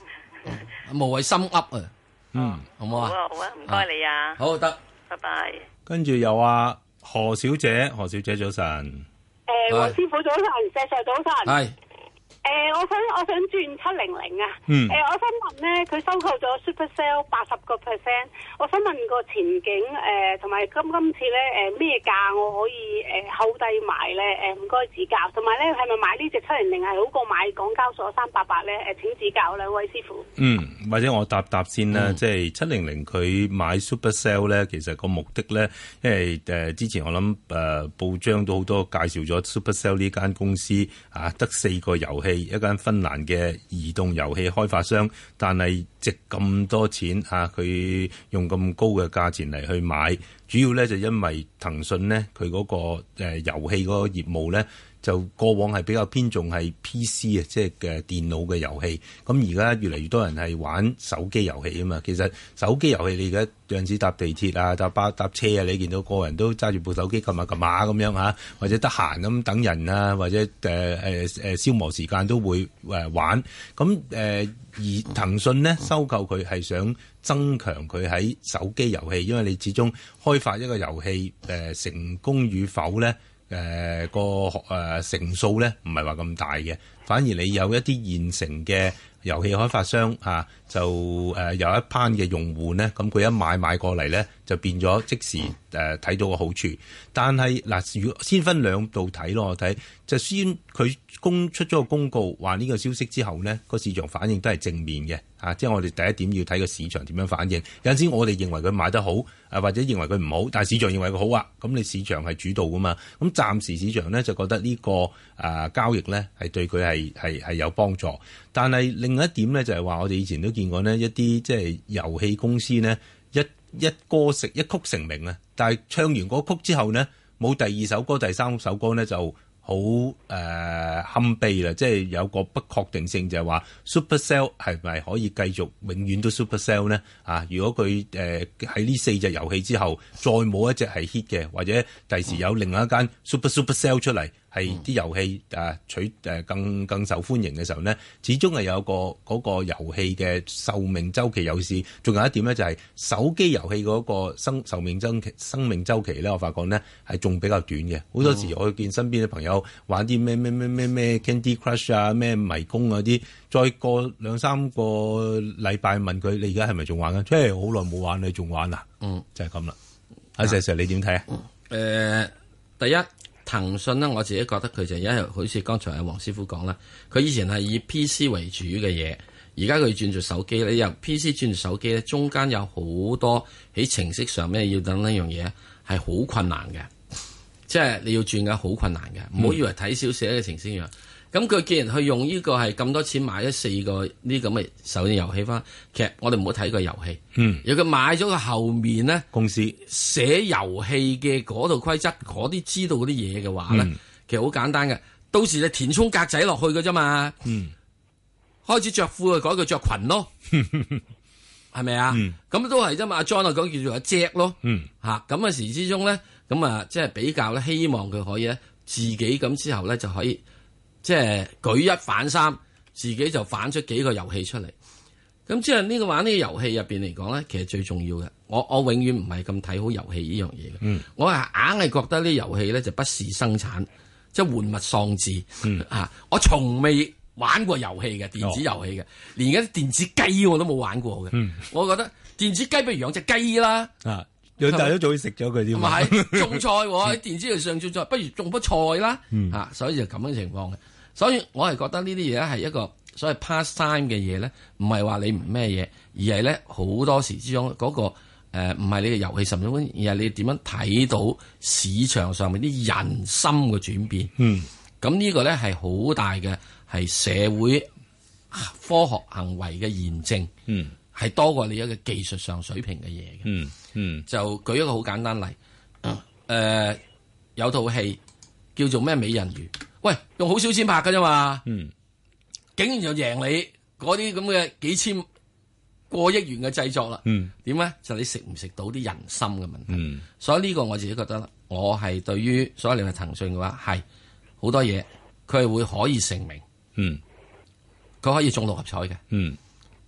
無謂心噏啊。 嗯， 好唔好啊？ 好啊，好啊，唔該你啊。 好得， 拜拜。 跟住又話何小姐，何小姐早晨。 誒，黃師傅早晨，石 Sir 早晨。 係。 誒、呃，我想我想轉七零零啊！誒、 嗯呃，我想問咧，佢收購咗 Supercell 八十個 percent，我想問個前景誒，同、呃、埋今今次咧誒咩價我可以誒後低買咧？誒唔該指教，同埋咧係咪買呢隻七零零係好過買港交所三八八咧？誒請指教兩位師傅。 嗯，或者我答答先啦， 嗯、 即係七零零佢買 Supercell 咧，其實個目的咧，因為誒、呃、之前我諗誒、呃、報章都好多介紹咗 Supercell 呢間公司啊，得四個遊戲。一間芬蘭嘅移動遊戲開發商，但係值咁多錢啊！佢用咁高嘅價錢嚟去買，主要咧就因為騰訊咧佢嗰個誒、呃、遊戲嗰個業務咧，就過往係比較偏重係 P C 啊，即係嘅電腦嘅遊戲。咁而家越嚟越多人係玩手機遊戲啊嘛。其實手機遊戲你而家有陣時搭地鐵啊、搭巴搭車啊，你見到個人都揸住部手機撳下撳下咁樣嚇，或者得閒咁等人啊，或者誒誒誒消磨時間都會誒玩。咁誒、呃、而騰訊呢，收購佢係想增強佢喺手機遊戲，因為你始終開發一個遊戲誒、呃、成功與否咧。誒、呃、個誒、呃、成數咧唔係話咁大嘅，反而你有一啲現成嘅遊戲開發商嚇、啊，就誒、呃、有一班嘅用戶咧，咁佢一買買過嚟咧，就變咗即時誒睇、呃、到個好處。但係嗱，如果先分兩度睇咯，我睇就先佢公出咗個公告話呢個消息之後呢，個市場反應都係正面嘅嚇、啊，即係我哋第一點要睇個市場點樣反應。有陣時我哋認為佢買得好，啊或者認為佢唔好，但係市場認為佢好啊，咁你市場係主導噶嘛。咁暫時市場呢，就覺得呢、這個啊交易呢係對佢係係係有幫助。但係另一點呢，就係、是、話我哋以前都見過呢一啲即係遊戲公司呢，一一歌成一曲成名啊，但係唱完嗰曲之後呢，冇第二首歌、第三首歌呢就好誒堪悲啦，即係有個不確定性，就係話 Supercell 係咪可以繼續永遠都 Supercell 呢？啊，如果佢誒喺呢四隻遊戲之後再冇一隻係 hit 嘅，或者第時有另外一間 Super Supercell 出嚟，係啲遊戲誒取誒更更受歡迎嘅時候呢，始終係有個嗰個遊戲嘅壽命週期有事。仲有一點呢，就係手機遊戲嗰個生壽命週期生命週期咧，我發覺呢係仲比較短嘅。好多時我見身邊嘅朋友玩啲咩咩咩咩咩 Candy Crush 啊、咩迷宮嗰啲，再過兩三個禮拜問佢：你而家係咪仲玩緊？即係好耐冇玩，你仲玩啊？嗯，就係咁啦。阿石 Sir，你點睇啊？誒、 呃，第一。騰訊呢，我自己覺得佢就因為好似剛才阿黃師傅講啦，佢以前係以 P C 為主嘅嘢，而家佢轉做手機咧，你由 P C 轉做手機咧，中間有好多喺程式上面要等呢樣嘢係好困難嘅，即係你要轉嘅好困難嘅，唔好、嗯、以為睇小寫嘅程式一樣。咁佢既然去用呢個係咁多錢買咗四個呢咁嘅手機遊戲翻，其實我哋唔好睇個遊戲。嗯，如果佢買咗個後面咧，公司寫遊戲嘅嗰度規則，嗰啲知道嗰啲嘢嘅話咧，嗯、其實好簡單嘅。到時你填充格仔落去嘅啫嘛。嗯，開始着褲就改佢着裙咯，係咪啊？咁、嗯、都係啫嘛。阿 John 啊講叫做阿 Jack 咯。嗯，嚇咁嘅時之中咧，咁啊即係比較咧，希望佢可以咧自己咁之後咧就可以。即係舉一反三，自己就反出幾個遊戲出嚟。咁即係呢個玩呢個遊戲入邊嚟講咧，其實最重要嘅，我我永遠唔係咁睇好遊戲呢樣嘢嘅。嗯、我係硬係覺得呢遊戲咧就不是生產，即係玩物喪志。嗯、啊，我從未玩過遊戲嘅電子遊戲嘅，哦、連嗰啲電子雞我都冇玩過嘅。嗯、我覺得電子雞不如養隻雞啦。啊養大都早啲食咗佢添， 唔係種菜喎，喺電子度上種菜，不如種棵菜啦。嗯、啊，所以就咁嘅情況嘅。所以我係覺得呢啲嘢係一個所謂 pastime 嘅嘢咧，唔係話你唔咩嘢，而係咧好多時之中嗰、那個誒唔係你嘅遊戲甚至乎，而係你點樣睇到市場上面啲人心嘅轉變。嗯，咁呢個咧係好大嘅係社會科學行為嘅驗證。嗯，係多過你一個技術上水平嘅嘢嘅。嗯嗯，就舉一個好簡單例，誒、嗯呃、有套戲叫做咩美人魚。喂，用好少錢拍㗎啫嘛，嗯，竟然就贏你嗰啲咁嘅幾千過億元嘅製作啦，嗯，點咧？就你食唔食到啲人心嘅問題，嗯，所以呢個我自己覺得，我係對於所謂你係騰訊嘅話，係好多嘢，佢係會可以成名，嗯，佢可以中六合彩嘅，嗯，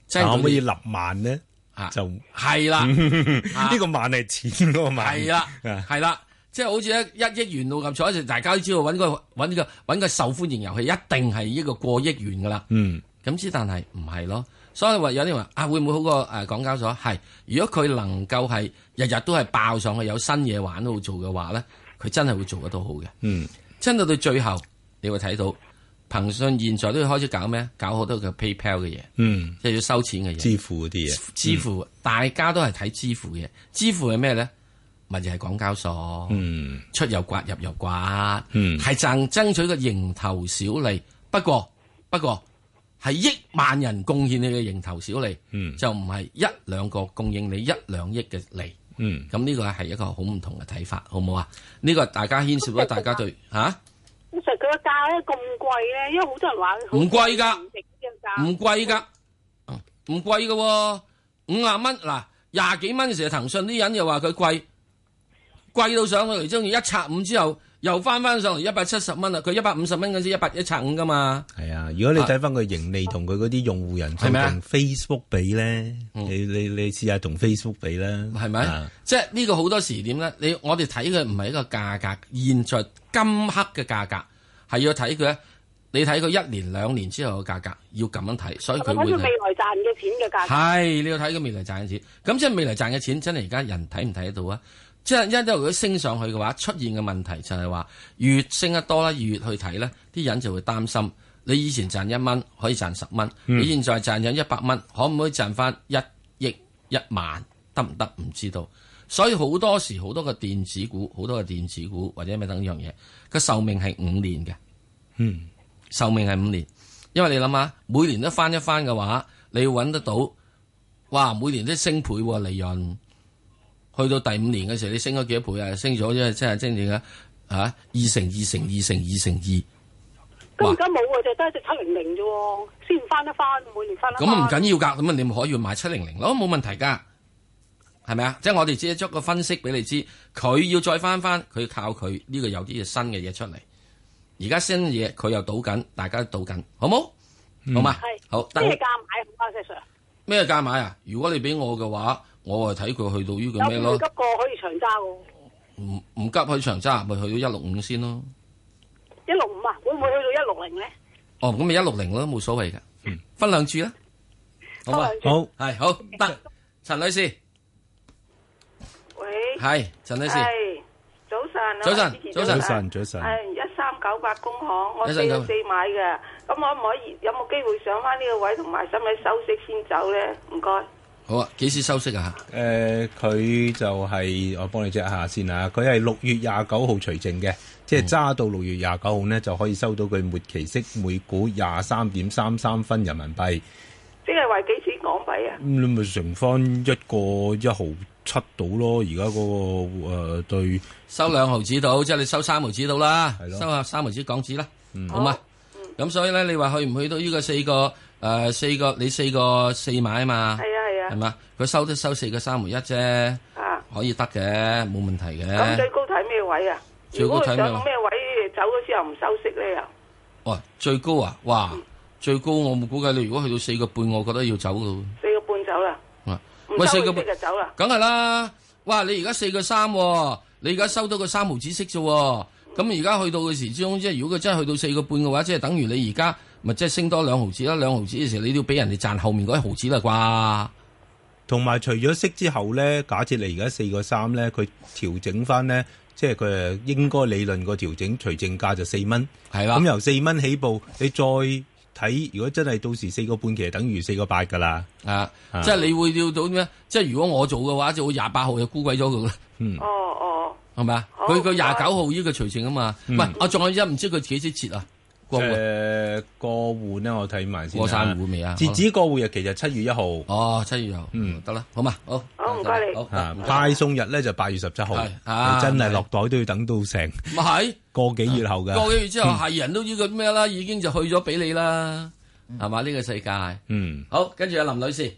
真係可唔可以立萬咧？ 啊， 就係啦， 呢個萬係錢嗰個萬。 係啦，係啦，即係好似一一億元六合彩，就大家都知道揾個揾個揾個受歡迎遊戲，一定係呢個過億元噶啦。 嗯， 咁之但係唔係咯，所以話有啲人話啊，會唔會好過誒港交所？係，如果佢能夠係日日都係爆上去，有新嘢玩喺度做嘅話咧，佢真係會做得到好嘅。 嗯， 真到到最後，你會睇到。騰訊現在都要開始搞咩？搞好多嘅 PayPal 嘅嘢， 嗯， 即係要收錢嘅嘢， 支付嗰啲嘢， 支付、嗯、大家都係睇支付嘅嘢，支付係咩咧？咪就係港交所， 嗯， 出又刮入又刮， 嗯，係爭爭取個蠅頭小利。不過不過係億萬人貢獻你嘅蠅頭小利， 嗯， 就唔係一兩個供應你一兩億嘅利， 嗯， 咁呢個係一個好唔同嘅睇法，好唔好啊？呢、這個大家牽涉到大家對嚇。啊其實佢個價咧咁貴咧，因為好多人話唔貴噶，唔貴噶，唔貴噶，五十蚊嗱廿幾蚊嘅時候，騰訊啲人又話佢貴，貴到上去，中意一拆五之後又翻翻上嚟一百七十蚊啦，佢一百五十蚊嗰時一百一拆五噶嘛。 係啊，如果你睇翻佢盈利同佢嗰啲用戶人數同 Facebook 比咧，你你你試下同 Facebook 比啦， 係咪？啊、即係呢個好多時點咧？你我哋睇佢唔係一個價格，現在今刻嘅價格係要睇佢咧。你睇佢一年兩年之後嘅價格，要咁樣睇，所以佢會睇未來賺嘅錢嘅價格。 係你要睇佢未來賺嘅錢，咁即係未來賺嘅錢真係而家人睇唔睇得到啊？即係一因為佢升上去嘅話，出現嘅問題就係話越升得多啦，越去睇咧，啲人就會擔心。你以前賺一蚊可以賺十蚊，嗯、你現在賺咗一百蚊，可唔可以賺翻一億一萬？得唔得？唔知道。所以好多時好多個電子股，好多個電子股或者咩等樣嘢，個壽命係五年嘅。 嗯。 壽命係五年，因為你諗下，每年都翻一翻嘅話，你要揾得到，哇！每年都升倍喎利潤，去到第五年嘅時候，你升咗幾多倍啊？升咗即係即係真正嘅嚇二乘二乘二乘二乘二。 咁而家冇啊，就得一隻七零零啫喎，先翻一翻，每年翻一翻。 咁唔緊要㗎，咁啊你咪可以買七零零咯，冇問題㗎，係咪啊？即係我哋只係作個分析俾你知，佢要再翻翻，佢靠佢呢、呢個有啲新嘅嘢出嚟。而家新嘢佢又賭緊，大家都賭緊，好冇？嗯、好嘛？係好。咩價買好啊，石 Sir？ 咩價買啊？如果你俾我嘅話，我係睇佢去到呢個咩咯？ 有冇急過可以長揸喎？ 唔唔急去長揸，咪去到一六五先咯。 一六五啊？會唔會去到一六零咧？ 哦，咁咪一六零咯，冇所謂嘅。嗯，分兩注啦。好嘛？好係好得。陳女士， 喂， 係陳女士。 早晨， 早晨，早晨，早晨。 係一三九八工行，我四個四買嘅，咁可唔可以有冇機會上翻呢個位，同埋使唔使收息先走咧？唔該。 好啊，幾時收息啊？ 誒、呃，佢就係、是、我幫你 check 下先啊。佢係六月廿九號除淨嘅，即係揸到六月廿九號呢，就可以收到佢末期息每股廿三點三三分人民幣。 即係話幾錢港幣啊？ 咁、嗯、你咪乘翻一個一毫七到咯，而家嗰個誒、呃、對收兩毫子到，即係你收三毫子到啦，收下三毫子港紙啦，嗯、好嘛？咁、嗯、所以咧，你話去唔去到呢個四個誒、呃、四個你四個四買啊嘛？ 係啊係啊， 係嘛？佢收都收四個三毫一啫，啊，可以得嘅，冇問題嘅。 咁最高睇咩位啊？ 最高睇咩？ 上咩位走咗之後唔收息咧又？ 哇！最高啊！哇！嗯、最高我冇估計，你如果去到四個半，我覺得要走咯。 四個半走啦。 喂，四個半就走啦， 梗係啦！哇，你而家四個三，你而家收到個三毫子息啫，咁而家去到嘅時之中，即係如果佢真係去到四個半嘅話，即係等於你而家咪即係升多兩毫子啦，兩毫子嘅時候你都要俾人哋賺後面嗰一毫子啦啩。 同埋除咗息之後咧，假設你而家四個三咧，佢調整翻咧，即係佢誒應該理論個調整除淨價就四蚊， 係啦。 咁由四蚊起步，你再睇，如果真係到時四個半，其實等於四個八噶啦， 啊，啊即係你會要到咩？即係如果我做嘅話，就會廿八號就沽鬼咗佢啦。 嗯， 哦哦， 係咪啊？佢佢廿九號呢個除淨啊嘛。唔係、嗯，我仲有一唔知佢幾時截啊？過戶誒過戶呢，我睇埋先。 過晒戶未啊？ 截止過戶日期就七月一號。 哦，七月一號。嗯，得啦，好嘛，好。 好唔該你。 好啊，派送日咧就八月十七號。係真係落袋都要等到成。 咪係個幾月後㗎？ 個幾月之後係人都呢個咩啦？已經就去咗俾你啦。係嘛？呢個世界， 嗯， 好，跟住阿林女士，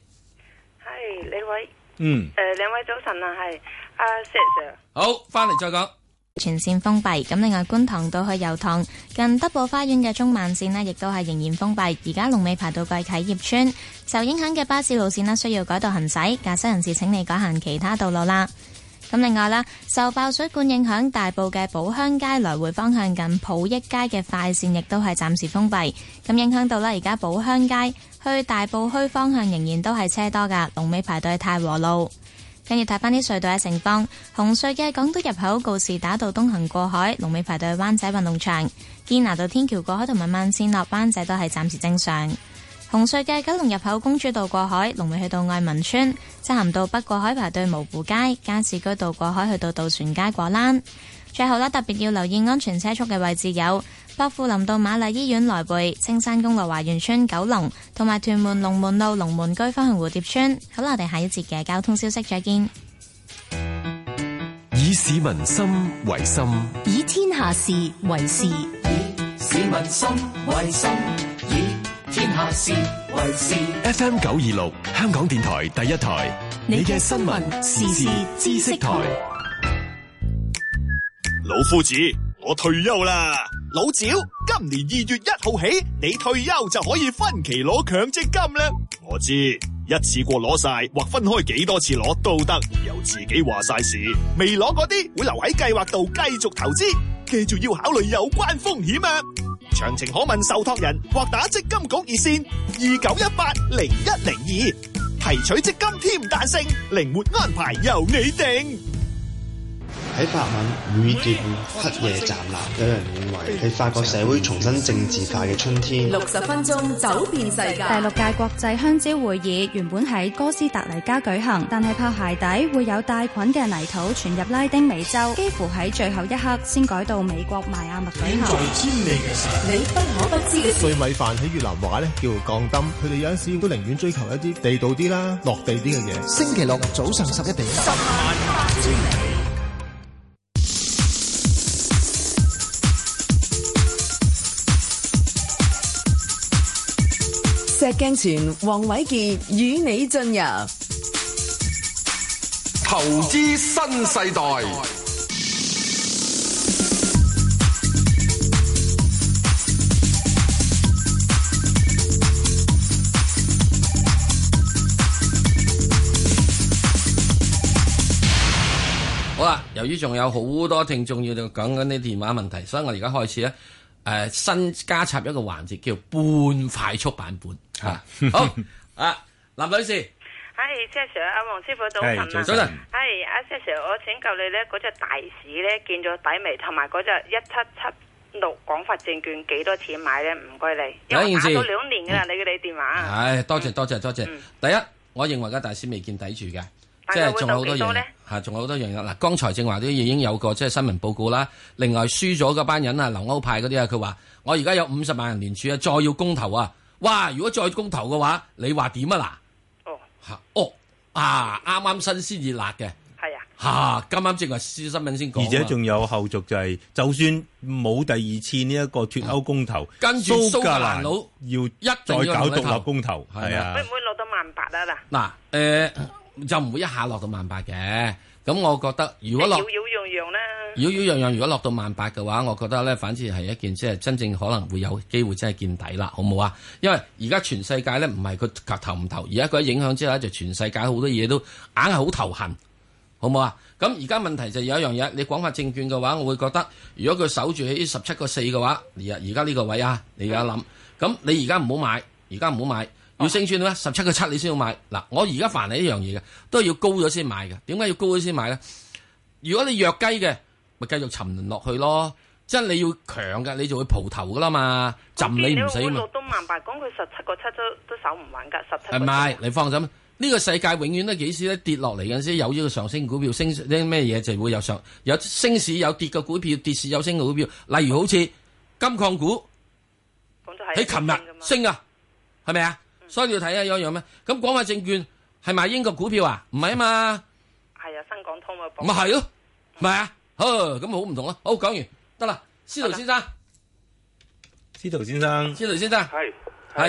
係兩位， 嗯， 誒，兩位早晨啊，係阿石 Sir， 好，翻嚟再講。 全線封閉。咁另外觀塘到去油塘近德寶花園嘅中慢線呢，亦都係仍然封閉。而家龍尾排到過啟業村，受影響嘅巴士路線呢，需要改道行駛，駕駛人士請你改行其他道路啦。咁另外啦，受爆水管影響，大埔嘅寶鄉街來回方向近普益街嘅快線亦都係暫時封閉。咁影響到啦，而家寶鄉街去大埔墟方向仍然都係車多噶，龍尾排到去太和路。跟住睇翻啲隧道嘅情況，紅隧嘅港島入口告士打道東行過海，龍尾排到去灣仔運動場；堅拿道天橋過海同埋慢線落灣仔都係暫時正常。紅隧嘅九龍入口公主道過海，龍尾去到愛民村；漆咸道北過海排到蕪湖街，加士居道過海去到渡船街果欄。最後呢，特別要留意安全車速嘅位置有薄扶林道瑪麗醫院來回、青山公路華園村九龍，同埋屯門龍門路龍門居方向蝴蝶村。好啦，我哋下一節嘅交通消息再見。 以市民心為心， 以天下事為事，以市民心為心，以天下事為事。 F M 九二六香港電台第一台，你嘅新聞時事知識台。 老夫子，我退休啦。老趙，今年二月一號起，你退休就可以分期攞強積金啦。我知，一次過攞晒或分開幾多次攞都得，由自己話晒事。未攞嗰啲會留喺計劃度繼續投資，記住要考慮有關風險啊。詳情可問受託人或打積金局熱線二九一八零一零二，提取積金添彈性，靈活安排由你定。 喺法文雨劍黑夜站立，有人認為係法國社會重新政治化嘅春天。 六十分鐘走遍世界。 第六屆國際香蕉會議原本喺哥斯達黎加舉行，但係怕鞋底會有帶菌嘅泥土傳入拉丁美洲，幾乎喺最後一刻先改到美國邁阿密舉行。 在千里嘅事， 你不可不知嘅事。 碎米飯喺越南話咧叫鋼燈，佢哋有陣時都寧願追求一啲地道啲啦、落地啲嘅嘢。 星期六早上十一點，十萬八千里。 石鏡泉黃偉傑與你進入投資新世代。 好啦，由於仲有好多聽眾要講緊啲電話問題，所以我而家開始咧，誒、呃、新加插一個環節叫半快速版本。吓，好啊，林女士， 係 Sir， 阿黃師傅早晨啊， 早晨， 係阿 Sir， 我請教你咧，嗰隻大市咧見咗底未？同埋嗰隻一七七六廣發證券幾多錢買咧？唔該你，因為打咗兩年噶啦，你嘅你電話。 係，多謝多謝多謝。第一，我認為個大市未見底住嘅，即係仲有好多樣吓，仲有好多樣嘢。嗱，剛才正話都已經有個即係新聞報告啦。另外輸咗嗰班人啊，留歐派嗰啲啊，佢話我而家有五十萬人聯署啊，再要公投啊。哇！如果再公投嘅話，你話點啊？嗱，哦，嚇，哦，啊，啱啱新鮮熱辣嘅， 係啊， 嚇，啱啱正話新聞先講， 而且仲有後續就係、是，就算冇第二次呢一個脫歐公投， 跟住蘇格蘭佬要一再搞獨立公投，係啊， 會唔會落到萬八啊？嗱， 嗱，誒，就唔會一下落到萬八嘅，咁我覺得如果落， 擾擾攘攘啦。 擾擾攘攘，如果落到萬八嘅話，我覺得咧，反之係一件即係真正可能會有機會真係見底啦，好唔好啊？因為而家全世界咧唔係佢投唔投，而家佢影響之後咧，就全世界好多嘢都硬係好頭痕，好唔好啊？咁而家問題就有一樣嘢，你廣發證券嘅話，我會覺得如果佢守住喺十七個四嘅話，而而家呢個位啊，你而家諗，咁你而家唔好買，而家唔好買，要升穿咧十七個七你先要買。嗱，我而家凡係一樣嘢嘅，都係要高咗先買嘅。點解要高咗先買咧？如果你弱雞嘅，咪繼續沉淪落去咯，即係你要強嘅，你就會蒲頭噶啦嘛，浸你唔死嘛。 落到萬八，講佢十七個七都都守唔穩噶，十七。係咪？你放心，呢、這個世界永遠都幾時咧跌落嚟嗰陣時，有呢個上升股票升啲咩嘢就會有上有升市有跌嘅股票，跌市有升嘅股票。例如好似金礦股，喺琴日升啊，係咪啊？嗯、所以你要睇下有一樣咩？咁廣發證券係賣英國股票啊？唔係啊嘛。係啊，新港通啊。 咪係咯，咪啊。咁好唔同咯，好，講完得啦，司徒先生， 司徒先生， 司徒先生， 係係係，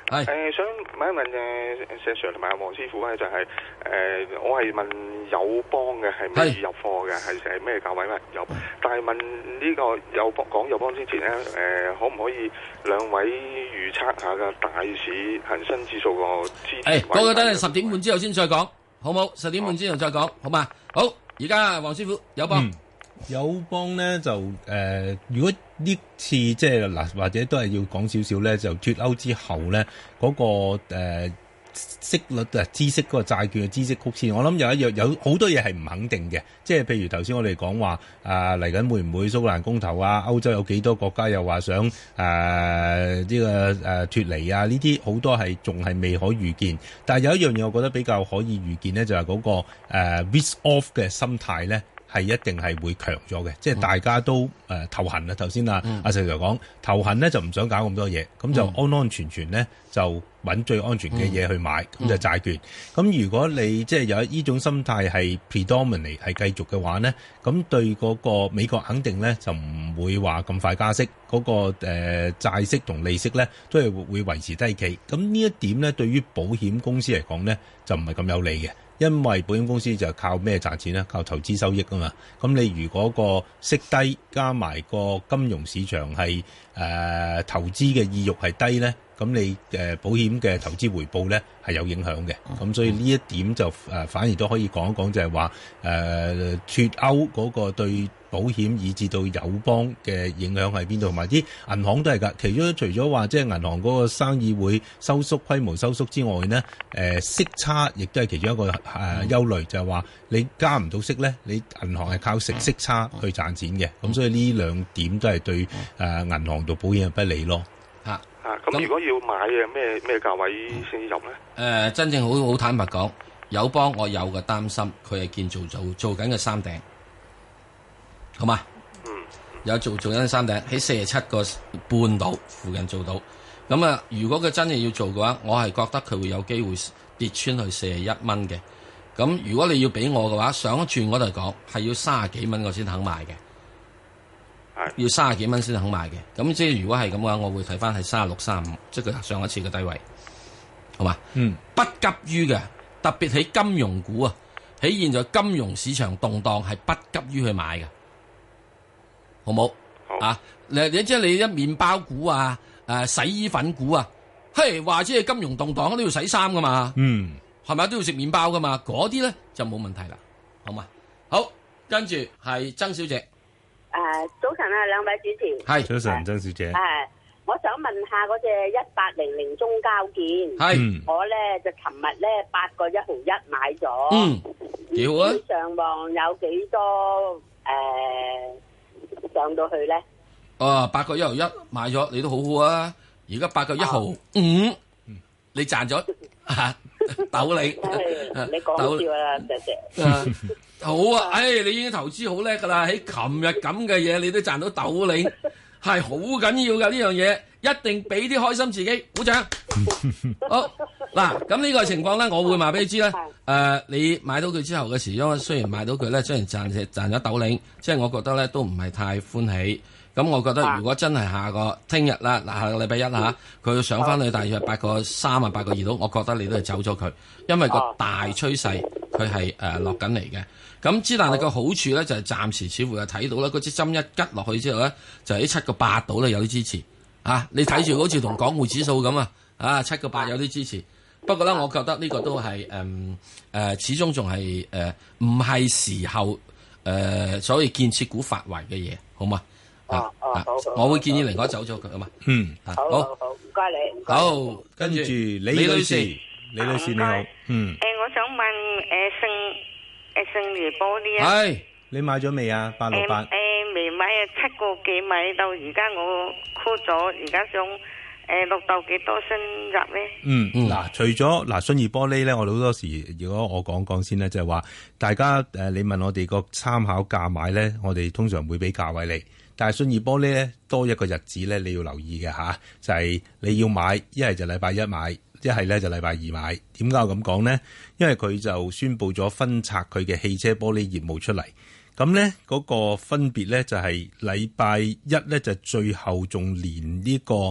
係誒，想問一問誒石 Sir 同埋阿黃師傅咧，就係誒，我係問友邦嘅係未入貨嘅，係係咩價位咧？有，但係問呢個友邦講友邦之前咧，誒，可唔可以兩位預測下嘅大市恒生指數個支持位？ 誒，嗰個等你十點半之後先再講，好冇？十點半之後再講，好嘛？好，而家黃師傅友邦。 友邦咧就誒、呃，如果呢次即係嗱，或者都係要講少少咧，就脫歐之後咧，嗰、那個誒、呃、息率啊，孳息嗰個債券嘅孳息曲線，我諗有一樣有好多嘢係唔肯定嘅，即係譬如頭先我哋講話啊，嚟緊會唔會蘇格蘭公投啊？歐洲有幾多國家又話想誒呢、呃這個誒、呃、脫離啊？呢啲好多係仲係未可預見，但係有一樣嘢我覺得比較可以預見咧，就係、是、嗰、那個誒、呃、risk off 嘅心態咧。係一定係會強咗嘅，即係大家都誒、呃、頭痕啊！頭先啊阿石 Sir 講頭痕咧就唔想搞咁多嘢，咁就安安全全咧就揾最安全嘅嘢去買，咁、嗯、就債券。咁如果你即係有呢種心態係 predominate 係繼續嘅話咧，咁對嗰個美國肯定咧就唔會話咁快加息，嗰、嗰個誒、呃、債息同利息咧都係會維持低企。咁呢一點咧對於保險公司嚟講咧就唔係咁有利嘅。因為保險公司就靠咩賺錢咧？靠投資收益啊嘛。咁你如果個息低，加埋個金融市場係誒、呃、投資嘅意欲係低咧，咁你誒、呃、保險嘅投資回報咧係有影響嘅。咁所以呢一點就誒、呃、反而都可以講一講，就係話誒脫歐嗰個對保險以至到友邦嘅影響喺邊度，同埋啲銀行都係㗎。其中除咗話即係銀行嗰個生意會收縮、規模收縮之外呢，誒、呃、息差亦都係其中一個誒、呃、憂慮，就係、是、話你加唔到息咧，你銀行係靠食息差去賺錢嘅。咁所以呢兩點都係對誒、呃、銀行同保險係不利咯。嚇啊！咁如果要買嘅咩咩價位先入咧？誒、 呃，真正好好坦白講，友邦我有個擔心，佢係建造做做緊嘅三頂。好嘛？嗯，有做做緊山頂喺四十七個半度附近做到。咁啊，如果佢真係要做嘅話，我係覺得佢會有機會跌穿去四十一蚊嘅。咁如果你要俾我嘅話，上一轉我嚟講係要三十幾蚊我先肯買嘅，係要三十幾蚊先肯買嘅。咁即係如果係咁嘅話，我會睇翻係三十六、三十五，即係佢上一次嘅低位。好嘛？嗯，不急於嘅，特別喺金融股啊，喺現在金融市場動盪係不急於去買嘅。好冇？好啊！你你即係你一麵包股啊，誒、呃、洗衣粉股啊，嘿，話即係金融動盪都要洗衫噶嘛，嗯，係咪都要食麵包噶嘛？嗰啲咧就冇問題啦，好嘛？好，跟住係曾小姐。誒、 呃，早晨啊，兩位主持。 係早晨，曾小姐。 誒、呃，我想問下嗰隻一八零零中交建，係我咧就尋日咧八個一毫一買咗，嗯，幾好啊！上望有幾多誒？呃上到去咧， 哦，八個一毫一買咗，你都好好啊！而家八個一毫五，你賺咗吓斗你， 你講笑啦，謝謝。 好啊，唉，你已經投資好叻噶啦！喺琴日咁嘅嘢，你都賺到斗你，係好緊要噶呢樣嘢，一定俾啲開心自己，鼓掌。好嗱，咁呢個情況咧，我會話俾你知咧。誒，你買到佢之後嘅時，因為雖然買到佢咧，雖然賺賺咗斗零，即係我覺得咧都唔係太歡喜。咁我覺得如果真係下個聽日啦，嗱下個禮拜一嚇，佢要上翻去大約八個三啊，八個二度，我覺得你都係走咗佢，因為個大趨勢佢係誒落緊嚟嘅。咁之但係個好處咧就係暫時似乎係睇到啦，嗰支針一吉落去之後咧，就喺七個八度咧有啲支持啊！你睇住好似同港匯指數咁啊，啊七個八有啲支持。不過咧，我覺得呢個都係誒誒，始終仲係誒唔係時候誒、呃，所謂建設股發圍嘅嘢，好嘛？ 啊啊，好， 我會建議寧可走咗佢啊嘛。嗯， 好，好，好，唔該你。 好，跟住李女士， 李女士你好。嗯。 誒，我想問誒信誒信義玻璃啊。 係，你買咗未啊？八六八。 誒未買啊，七個幾買到而家我沽咗，而家想。誒，落到幾多先入咧？ 嗯，嗱、嗯，除咗嗱信義玻璃咧，我哋好多時，如果我講講先咧，就係、是、話大家誒、呃，你問我哋個參考價買咧，我哋通常會俾價位你。但係信義玻璃咧，多一個日子咧，你要留意嘅吓，就係、是、你要買，一係就禮拜一買，一係咧就禮拜二買。點解我咁講咧？因為佢就宣布咗分拆佢嘅汽車玻璃業務出嚟。咁咧嗰個分別咧就係禮拜一咧就最後仲連呢、這個。誒、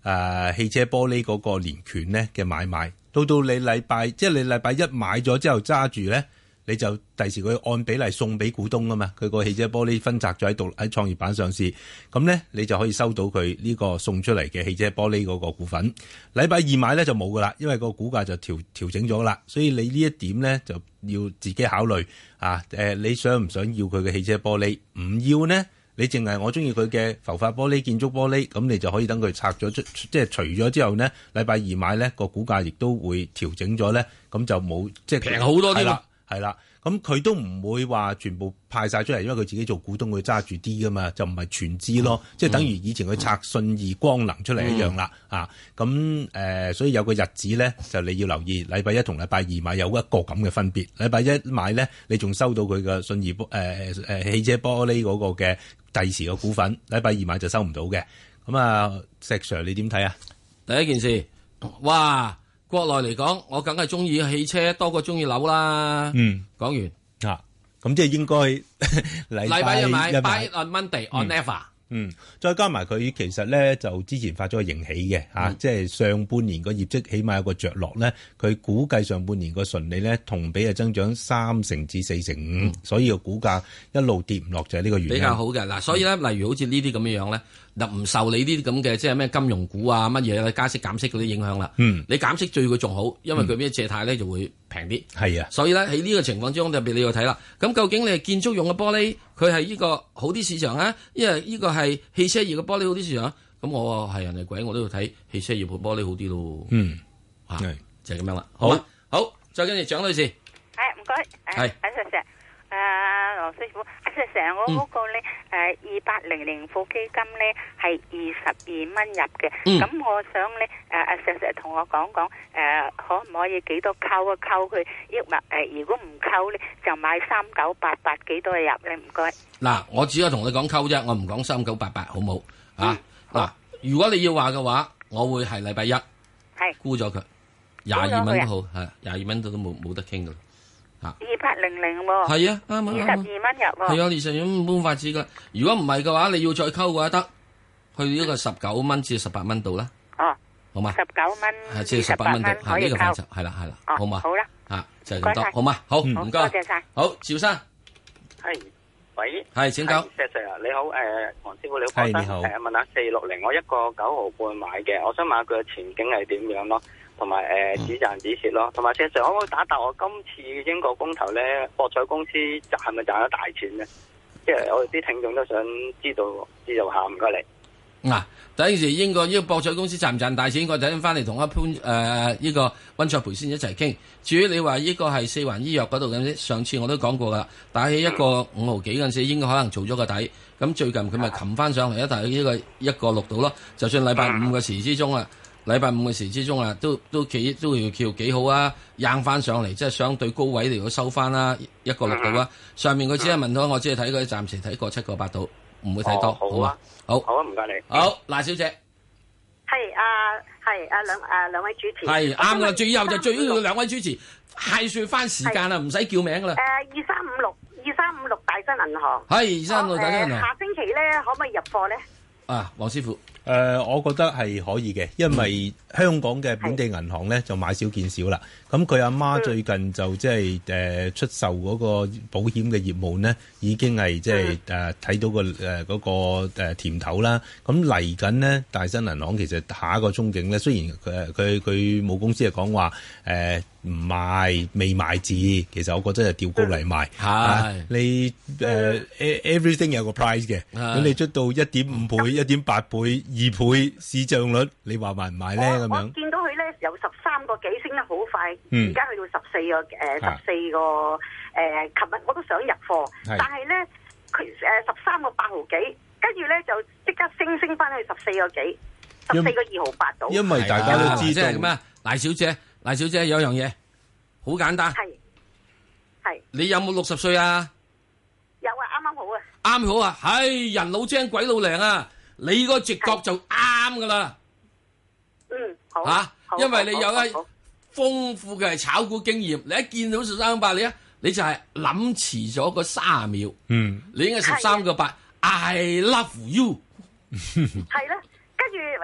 呃、汽車玻璃嗰個連權咧嘅買賣，到到你禮拜即係你禮拜一買咗之後揸住咧。你就第時佢按比例送俾股東啊嘛，佢個汽車玻璃分拆咗喺度喺創業板上市，咁咧你就可以收到佢呢個送出嚟嘅汽車玻璃嗰個股份。禮拜二買咧就冇噶啦，因為個股價就調調整咗啦，所以你呢一點咧就要自己考慮啊。誒、呃，你想唔想要佢嘅汽車玻璃？唔要呢？你淨係我中意佢嘅浮法玻璃、建築玻璃，咁你就可以等佢拆咗出，即係除咗之後呢，禮拜二買咧個股價亦都會調整咗咧，咁就冇即係平好多啲啦。 係啦，咁佢都唔會話全部派晒出嚟，因為佢自己做股東會揸住啲噶嘛，就唔係全資咯，嗯、即係等於以前佢拆信義光能出嚟一樣啦、嗯、啊！咁誒、呃，所以有個日子咧，就你要留意，禮拜一同禮拜二買有一個咁嘅分別。禮拜一買咧，你仲收到佢嘅信義玻誒誒汽車玻璃嗰個嘅第時嘅股份，禮拜二買就收唔到嘅。咁啊，石 Sir 你點睇啊？ 第一件事，哇！國內嚟講，我梗係中意汽車多過中意樓啦。 嗯， 講完啊，咁即係應該禮拜一買 ，buy on Monday on never。 嗯，再加埋佢其實咧就之前發咗個盈喜嘅嚇，啊嗯、即係上半年個業績起碼有個着落咧，佢估計上半年個純利咧同比係增長三成至四成五，嗯、所以個股價一路跌唔落就係呢個原因。 比較好嘅嗱，所以咧，例如好似呢啲咁樣樣咧。就唔受你呢啲咁嘅即係咩金融股啊乜嘢加息減息嗰啲影響啦。 嗯， 你減息對佢仲好，因為佢咩借貸咧就會平啲。 係啊， 所以咧喺呢個情況之中，特別你要睇啦。咁究竟你係建築用嘅玻璃，佢係呢個好啲市場啊？因為呢個係汽車業嘅玻璃好啲市場。咁我係人哋鬼，我都要睇汽車業嘅玻璃好啲咯。 嗯， 啊，就係咁樣啦。好，好，再跟住蔣女士。 係唔該。係。喺石石。誒，羅師傅，石石，我嗰個咧誒二八零零富基金咧係二十二蚊入嘅，咁我想咧誒阿石石同我講講誒可唔可以幾多溝一溝佢，抑或誒如果唔溝咧就買三九八八幾多入咧？唔該。嗱， 我只係同你講溝啫，我唔講三九八八，好唔好？啊，嗱，如果你要話嘅話，我會係禮拜一係沽咗佢，廿二蚊都好，係廿二蚊都都冇冇得傾噶啦。 二八零零喎， 係啊，啱啱二十二蚊入喎， 係啊，二十二蚊冇法子噶。如果唔係嘅話，你要再溝嘅話得，去呢個十九蚊至十八蚊度啦。 哦， 好嘛， 十九蚊， 係即係十八蚊度， 可以溝， 係啦係啦，好嘛， 好啦， 啊就係咁多，好嘛，好唔該， 多謝晒。 好，趙生， 係，喂， 係請講。 石 Sir 啊，你好，誒，黃師傅你好， 係你好， 誒，問下四六零，我一個九毫半買嘅，我想問下佢嘅前景係點樣咯？同埋誒止賺止蝕咯，同埋石 Sir可唔可以打答我今次英國公投咧，博彩公司賺係咪賺咗大錢咧？即係我哋啲聽眾都想知道知道下，唔該你。 嗱，第一件事英國呢個博彩公司賺唔賺大錢，我等陣翻嚟同阿潘誒呢個溫卓培先一齊傾。至於你話呢個係四環醫藥嗰度咁，上次我都講過噶，打起一個五毫幾嗰陣時，應該可能做咗個底。咁最近佢咪擒翻上嚟一大呢個一個六度咯。就算禮拜五嘅時之中啊。禮拜五嘅時之中啊，都都幾都要叫幾好啊，硬翻上嚟，即係相對高位嚟到收翻啦，一個六度啊。上面佢只係問到，我只係睇佢暫時睇過七個八度，唔會睇多， 好啊，好， 好啊，唔該你。 好，賴小姐， 係啊，係啊兩啊兩位主持， 係啱啦，最後就最緊要兩位主持，係算翻時間啦，唔使叫名噶啦。 誒，二三五六，二三五六大新銀行， 係二三五六大新銀行。 下星期咧可唔可以入貨咧？ 啊，黃師傅。 誒、呃，我覺得係可以嘅，因為香港嘅本地銀行咧就買少見少啦。咁佢阿媽最近就即係誒出售嗰個保險嘅業務呢，已經係即係誒睇到個誒嗰、呃那個、呃、甜頭啦。咁嚟緊呢，大新銀行其實下一個憧憬咧，雖然佢佢佢母公司係講話誒唔賣未賣字，其實我覺得係調高嚟賣。係、啊、你誒、呃、everything 有個 price 嘅，咁你出到一點五倍、一點八倍。二倍市賬率，你話買唔買咧？咁樣我見到佢咧由十三個幾升得好快，而、 嗯、 家去到十四個誒十四個誒，琴、呃、日我都想入貨，但係咧佢誒十三個八毫幾，跟住咧就即刻升升翻去十四個幾，十四個二毫八到。 因為大家都知道咩？賴小姐，賴小姐有樣嘢好簡單， 係係你有冇六十歲啊？ 有啊，啱啱好啊， 啱好啊，係人老精鬼老靈啊！你個直覺就啱噶啦， 嗯，好吓、啊，因為你有一豐富嘅炒股經驗，你一見到十三個八，你啊，你就係諗遲咗個卅秒， 嗯， 你應該十三個八 ，I love you， 係啦，跟住誒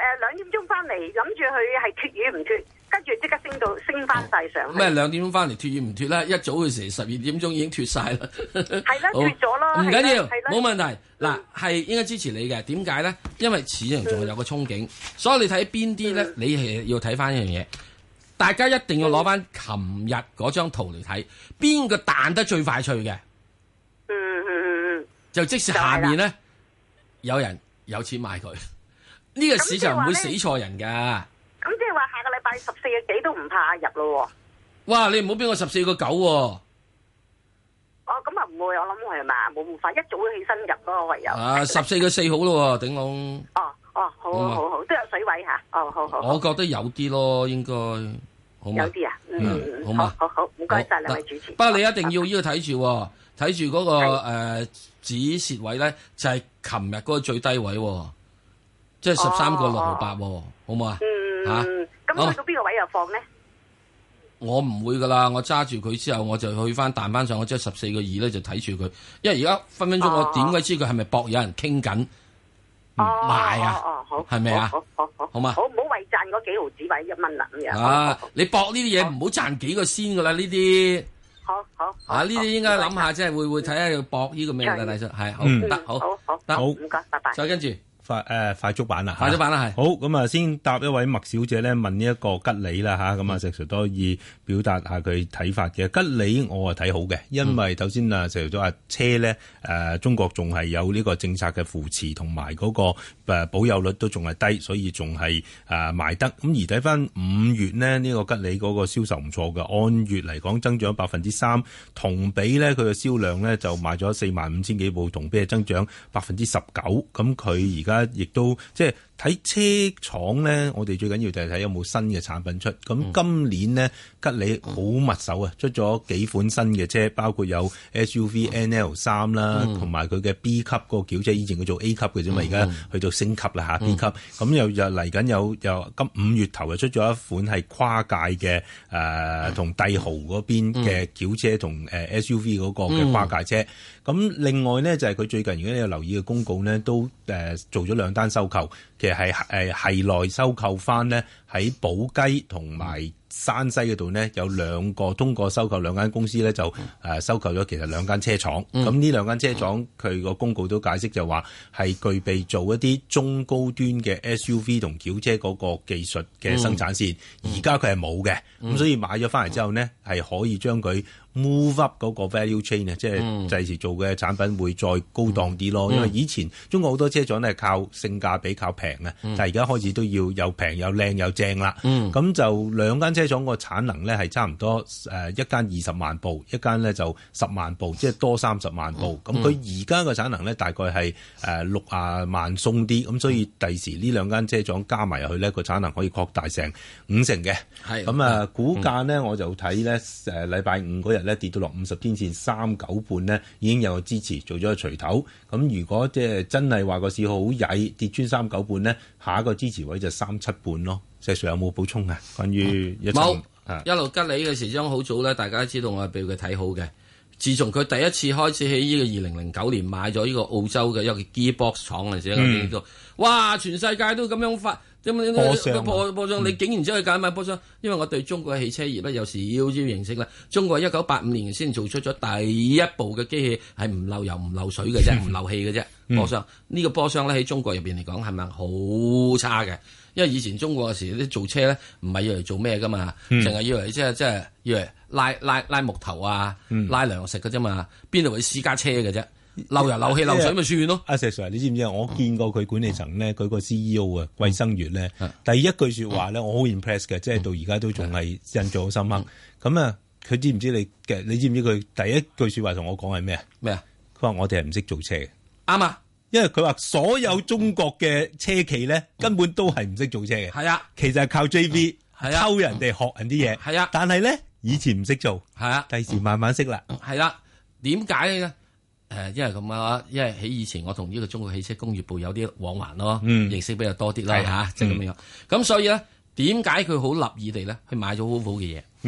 兩點鐘翻嚟，諗住佢係脫與唔脫，跟住即刻升到升翻晒上去。 咩兩點鐘翻嚟脫與唔脫咧？一早嘅時十二點鐘已經脫晒啦。 係啦，脫咗咯。 唔緊要，冇問題。嗱，係應該支持你嘅。點解咧？因為市場仲係有個憧憬，所以你睇邊啲咧？你係要睇翻一樣嘢。大家一定要攞翻琴日嗰張圖嚟睇，邊個彈得最快脆嘅？ 嗯嗯嗯嗯， 就即使下面咧有人有錢買佢，呢個市場唔會死錯人噶。 咁即係話下個禮拜十四個幾都唔怕入咯。 哇！你唔好俾我十四個九喎。 哦，咁啊唔會，我諗係嘛，冇咁快，一早起身入咯，唯有。 啊，十四個四好咯，頂籠。 哦哦，好好好好，都有水位吓。哦，好好。 我覺得有啲咯，應該。好有啲啊，嗯， 好嘛， 好好，唔該晒兩位主持。 不過你一定要呢個睇住，睇住嗰個誒止蝕位咧，就係琴日嗰個最低位，即係十三個六毫八，好唔好啊？ 嗯， 吓， 咁去到邊個位又放咧？ 我唔會噶啦，我揸住佢之後，我就去翻彈翻上，我即係十四個二咧，就睇住佢。因為而家分分鐘我點鬼知佢係咪博有人傾緊買啊？係咪啊？ 好好好， 好嘛？ 好唔好為賺嗰幾毫子位一蚊啦咁樣。 啊！你搏呢啲嘢唔好賺幾個先噶啦，呢啲。 好好。 啊！呢啲應該諗下，即係會會睇下要搏呢個咩嘅大叔係好得好。 好好得好，唔該，拜拜。 再跟住。 快誒快速版啦， 快速版啦係。 好咁啊，先答一位麥小姐咧問呢一個吉利啦嚇，咁啊石 Sir 都可以表達下佢睇法嘅。吉利我係睇好嘅，因為頭先啊石 Sir 都話車咧誒中國仲係有呢個政策嘅扶持，同埋嗰個誒保有率都仲係低，所以仲係誒賣得。咁而睇翻五月呢，呢個吉利嗰個銷售唔錯嘅，按月嚟講增長百分之三，同比咧佢嘅銷量咧就賣咗四萬五千幾部，同比係增長百分之十九。咁佢而家而家亦都即係睇車廠咧，我哋最緊要就係睇有冇新嘅產品出。咁今年呢，吉利好密手啊，出咗幾款新嘅車，包括有 S U V N L 三啦，同埋佢嘅 B 級嗰個轎車，以前佢做 A 級嘅啫嘛，而家去到升級啦嚇 B 級。咁又又嚟緊有又今五月頭又出咗一款係跨界嘅誒，同帝豪嗰邊嘅轎車同誒 S U V 嗰個嘅跨界車。咁另外呢，就係佢最近如果你有留意嘅公告呢，都誒做咗兩單收購，其實係誒係內收購翻呢，喺寶雞同埋山西嗰度呢，有兩個通過收購兩間公司呢，就誒收購咗其實兩間車廠。咁呢、嗯、兩間車廠佢個公告都解釋就話係具備做一啲中高端嘅 S U V 同轎車嗰個技術嘅生產線。而家佢係冇嘅，咁、嗯、所以買咗翻嚟之後呢，係可以將佢 move up 嗰個 value chain 啊，即係第時做嘅產品會再高檔啲咯。嗯、因為以前中國好多車廠咧係靠性價比靠平啊，嗯、但係而家開始都要又平又靚又正啦。咁、嗯、就兩間車廠個產能咧係差唔多誒，一間二十萬部，一間咧就十萬部，即係多三十萬部。咁佢而家個產能咧大概係誒六啊萬鬆啲，咁所以第時呢兩間車廠加埋入去咧個產能可以擴大成五成嘅。係咁啊，股價咧我就睇咧誒禮拜五嗰日咧跌到落五十天線三九半咧，已經有個支持做咗個錘頭。咁如果即係真係話個市好曳跌穿三九半咧，下一個支持位就三七半咯。石 Sir 有冇補充啊？關於一冇、嗯、一路吉利嘅時鐘好早咧，大家都知道我係俾佢睇好嘅。自從佢第一次開始喺呢個二零零九年買咗呢個澳洲嘅一個 Gearbox 廠嗰陣時，嗯、我哇！全世界都咁樣發。波箱波波箱，你竟然走去揀買波箱？因為我對中國嘅汽車業咧有少少認識咧。中國一九八五年先做出咗第一部嘅機器係唔漏油唔漏水嘅啫，唔漏氣嘅啫。波箱呢個波箱咧喺中國入邊嚟講係咪好差嘅？因為以前中國嘅時啲做車咧唔係要嚟做咩噶嘛，淨係以為即係即係要嚟拉拉拉木頭啊，拉糧食嘅啫嘛，邊度會私家車嘅啫？漏油漏氣漏水咪算咯。阿石 Sir，你知唔知啊？我見過佢管理層咧，佢個 C E O 啊，季生月咧，第一句說話咧，我好 impress 嘅，即係到而家都仲係印象好深刻。咁啊，佢知唔知你嘅？你知唔知佢第一句說話同我講係咩啊？咩啊？佢話我哋係唔識做車嘅。啱啊，因為佢話所有中國嘅車企咧，根本都係唔識做車嘅。係啊，其實係靠 J V 偷人哋學人啲嘢。係啊，但係咧以前唔識做。係啊，第時慢慢識啦。係啦，點解咧？誒，因為咁啊，因為喺以前我同呢個中國汽車工業部有啲往還咯，嗯、認識比較多啲啦嚇，即係咁樣。咁、嗯、所以咧，點解佢好立意地咧去買咗 Volvo 嘅嘢？嗯，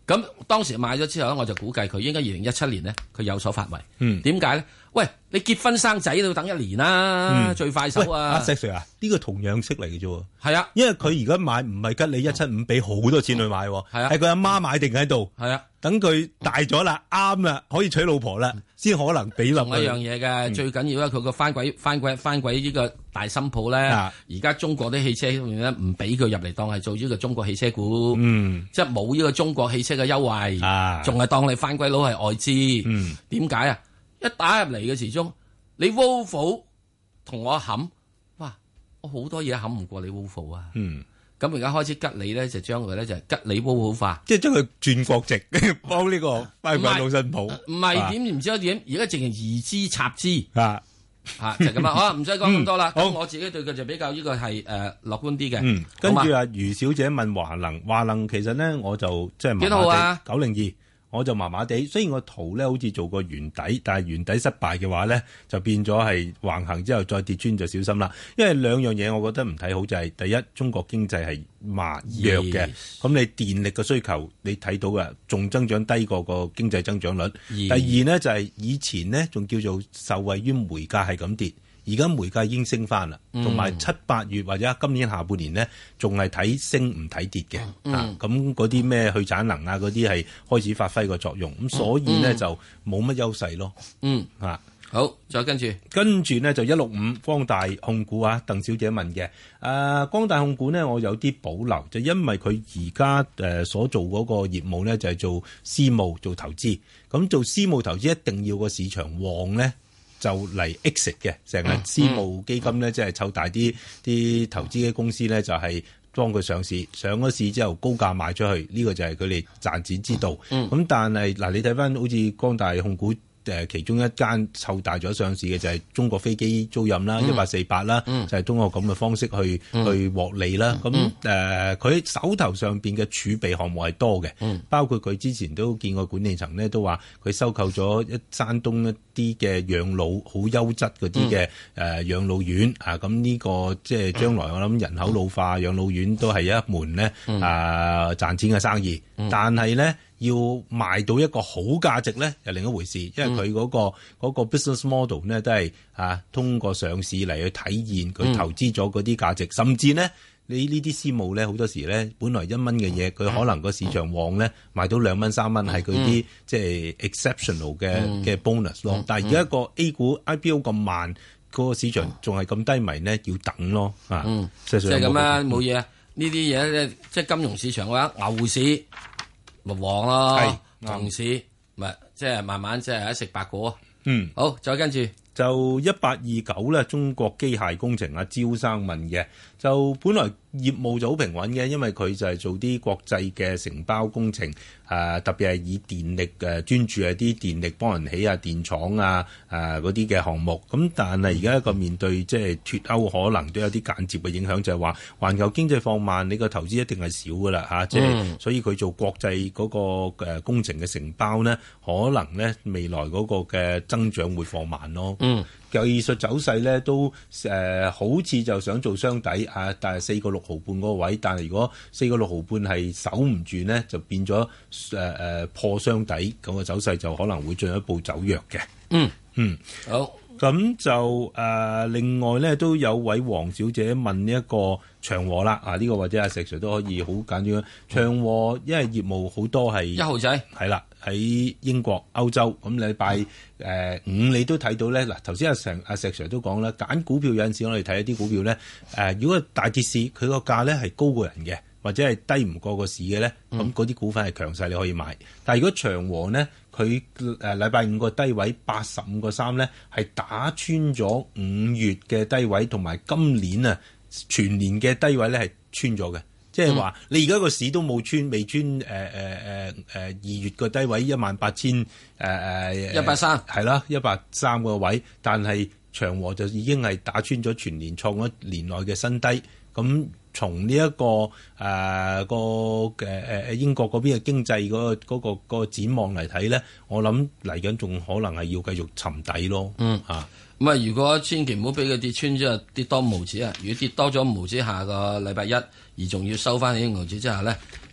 咁當時買咗之後咧，我就估計佢應該二零一七年咧，佢有所發圍。 嗯， 點解咧？喂，你結婚生仔都要等一年啦， 嗯、 最快手啊！ 阿石 Sir 啊，呢個同樣式嚟嘅啫。 係啊， 因為佢而家買唔係吉利一七五俾好多錢去買，係啊， 係佢阿媽買定喺度。 係啊， 等佢大咗啦，啱啦，可以娶老婆啦，先可能俾落去。 仲有一樣嘢嘅，嗯、最緊要咧，佢個翻鬼翻鬼翻鬼呢個大新鋪咧，而家、啊、中國啲汽車咧唔俾佢入嚟當係做呢個中國汽車股，嗯，即係冇呢個中國汽車嘅優惠，仲係、啊、當你翻鬼佬係外資。嗯，點解啊？一打入嚟嘅時鐘。你 Volvo 同我冚，哇！我好多嘢冚唔過你 Volvo 啊。嗯，咁而家開始吉利咧，就將佢咧就吉利 Volvo 化， 即係將佢轉國籍，幫呢個翻鬼佬新抱。 唔係點唔知點，而家淨係移資插資啊啊，就咁啊！好，唔使講咁多啦。好，我自己對佢就比較呢個係誒樂觀啲嘅。 嗯，跟住啊，余小姐問華能，華能其實咧我就即係麻麻地。幾多號啊？九零二。我就麻麻地，雖然個圖咧好似做過圓底，但係圓底失敗嘅話咧，就變咗係橫行之後再跌穿就小心啦。因為兩樣嘢我覺得唔睇好，就係、是、第一，中國經濟係慢弱嘅，咁 Yes. 你電力嘅需求你睇到嘅，仲增長低過個經濟增長率。Yes. 第二呢，就係、是、以前呢，仲叫做受惠於煤價係咁跌。而家煤價已經升翻啦，同埋七八月或者今年下半年呢，仲係睇升唔睇跌嘅。嗯、啊，咁嗰啲咩去產能啊，嗰啲係開始發揮個作用，咁所以呢，嗯、就冇乜優勢咯。 嗯， 啊， 好，再跟住， 跟住呢，就一六五光大控股啊，鄧小姐問嘅，誒、啊，光大控股呢，我有啲保留，就因為佢而家誒所做嗰個業務呢，就係、是、做私募做投資，咁做私募投資一定要個市場旺呢。就嚟 exit 嘅，成日私募基金咧，即係湊大啲啲投資嘅公司咧，就係幫佢上市，上咗市之後高價賣出去，呢、這個就係佢哋賺錢之道。咁、嗯、但係嗱，你睇翻好似光大控股。誒其中一間湊大咗上市嘅就係中國飛機租賃啦，一八四八啦，就係通過咁嘅方式去、嗯、去獲利啦。咁誒佢手頭上邊嘅儲備項目係多嘅，嗯、包括佢之前都見過管理層咧都話佢收購咗一山東一啲嘅養老好優質嗰啲嘅誒養老院啊。咁呢個即係將來我諗人口老化，養老院都係一門咧啊賺錢嘅生意，嗯、但係咧。要賣到一個好價值咧，又另一回事，因為佢嗰、嗰個嗰、嗯、個 business model 咧都係啊通過上市嚟去體現佢投資咗嗰啲價值，嗯、甚至呢，你呢啲私募咧好多時咧，本來一蚊嘅嘢，佢可能個市場旺咧賣到兩蚊三蚊，係佢啲即係 exceptional 嘅嘅 bonus 咯。嗯、但係而家個 A 股 I P O 咁慢，嗰、嗰個市場仲係咁低迷咧，要等咯啊。 嗯，即係咁啊，冇嘢啊。呢啲嘢咧，即係金融市場嘅話，牛市。咪旺咯，牛市咪即係慢慢即係喺食白果。嗯，好，再跟住就一八二九咧，中國機械工程啊，招生問嘅，就本來業務就好平穩嘅，因為佢就係做啲國際嘅承包工程，誒、呃、特別係以電力誒專注係啲電力幫人起啊電廠啊誒嗰啲嘅項目。咁但係而家一個面對即係脫歐，可能都有啲間接嘅影響，就係話環球經濟放慢，你個投資一定係少噶啦嚇，即係、嗯、所以佢做國際嗰個誒工程嘅承包呢，可能呢未來嗰個嘅增長會放慢咯。嗯，技術走勢咧都誒、呃、好似就想做雙底啊，但係四個六毫半嗰個位，但係如果四個六毫半係守唔住呢，就變咗誒誒破雙底，咁個走勢就可能會進一步走弱嘅。嗯嗯，好，咁就誒、呃、另外咧都有位黃小姐問呢一個長和啦，啊呢、這個或者阿石 Sir 都可以好簡單。長和因為業務好多係一號仔，係啦。喺英國、歐洲咁禮拜誒五你都睇到咧。嗱，頭先阿成阿石 Sir 都講啦，揀股票有陣時我哋睇一啲股票咧，誒、呃、如果大跌市佢個價咧係高過人嘅，或者係低唔過個市嘅咧，咁嗰啲股份係強勢你可以買。但係如果長和呢，佢誒禮拜五個低位八十五個三咧，係打穿咗五月嘅低位，同埋今年啊全年嘅低位咧係穿咗嘅。即係話，你而家個市都冇穿，未穿誒誒誒誒二月個低位一萬八千誒誒一百三， 係啦，一百三個位，但係長和就已經係打穿咗全年創咗年內嘅新低。咁從呢一個誒、呃、個誒誒英國嗰邊嘅經濟嗰、嗰個嗰、嗰個嗰個展望嚟睇咧，我諗嚟緊仲可能係要繼續沉底咯。 嗯啊。咁啊！如果千祈唔好俾佢跌穿咗，跌多五毫子啊！如果跌多咗五毫子，下個禮拜一而仲要收翻起五毫子之下咧，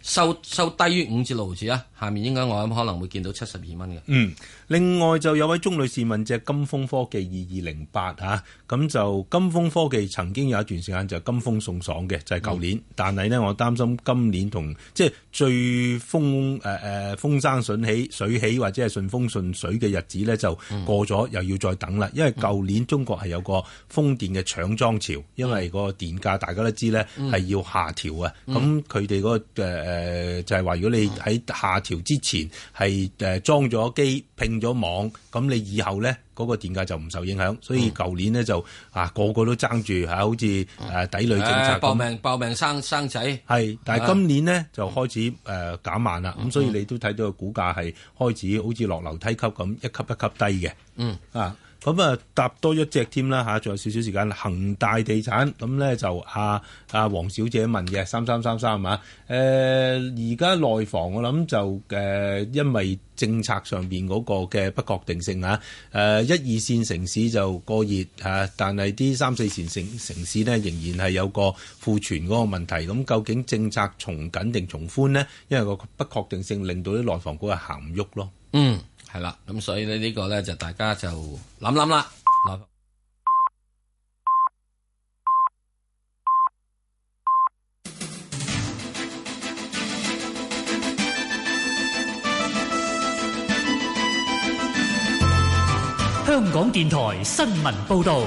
收收低於五至六毫子啊，下面應該我諗可能會見到七十二蚊嘅。 嗯，另外就有位鍾女士問隻金風科技二二零八嚇，咁就金風科技曾經有一段時間就金風送爽嘅，就係、是、舊年，嗯、但係呢，我擔心今年同即係最風誒誒、呃、風生水起水起或者係順風順水嘅日子呢，就過咗，嗯、又要再等啦。因為舊年中國係有個風電嘅搶裝潮，因為個電價大家都知呢係要下調啊，咁佢哋嗰個誒、呃、就係、是、話如果你喺下調之前係誒裝咗機拼咗網，咁你以後咧嗰、那個電價就唔受影響，所以舊年咧就啊個個都爭住嚇，好似誒抵壘政策搏命搏命生生仔， 係，但係今年呢，就開始誒、呃、減慢啦，咁、嗯、所以你都睇到個股價係開始好似落樓梯級咁一級一級低嘅，嗯啊。咁啊，搭多一隻添啦嚇，仲有少少時間。恒大地產咁咧就阿阿黃小姐問嘅三三三三啊，誒而家內房我諗就誒、呃，因為政策上邊嗰個嘅不確定性啊，誒、呃、一二線城市就過熱嚇、啊，但係啲三四線城城市呢，仍然係有個庫存嗰個問題。咁究竟政策從緊定從寬呢？因為個不確定性令到啲內房股係行唔喐咯。 嗯。係啦，咁所以呢呢個咧就大家就諗諗啦。 香港電台新聞報導，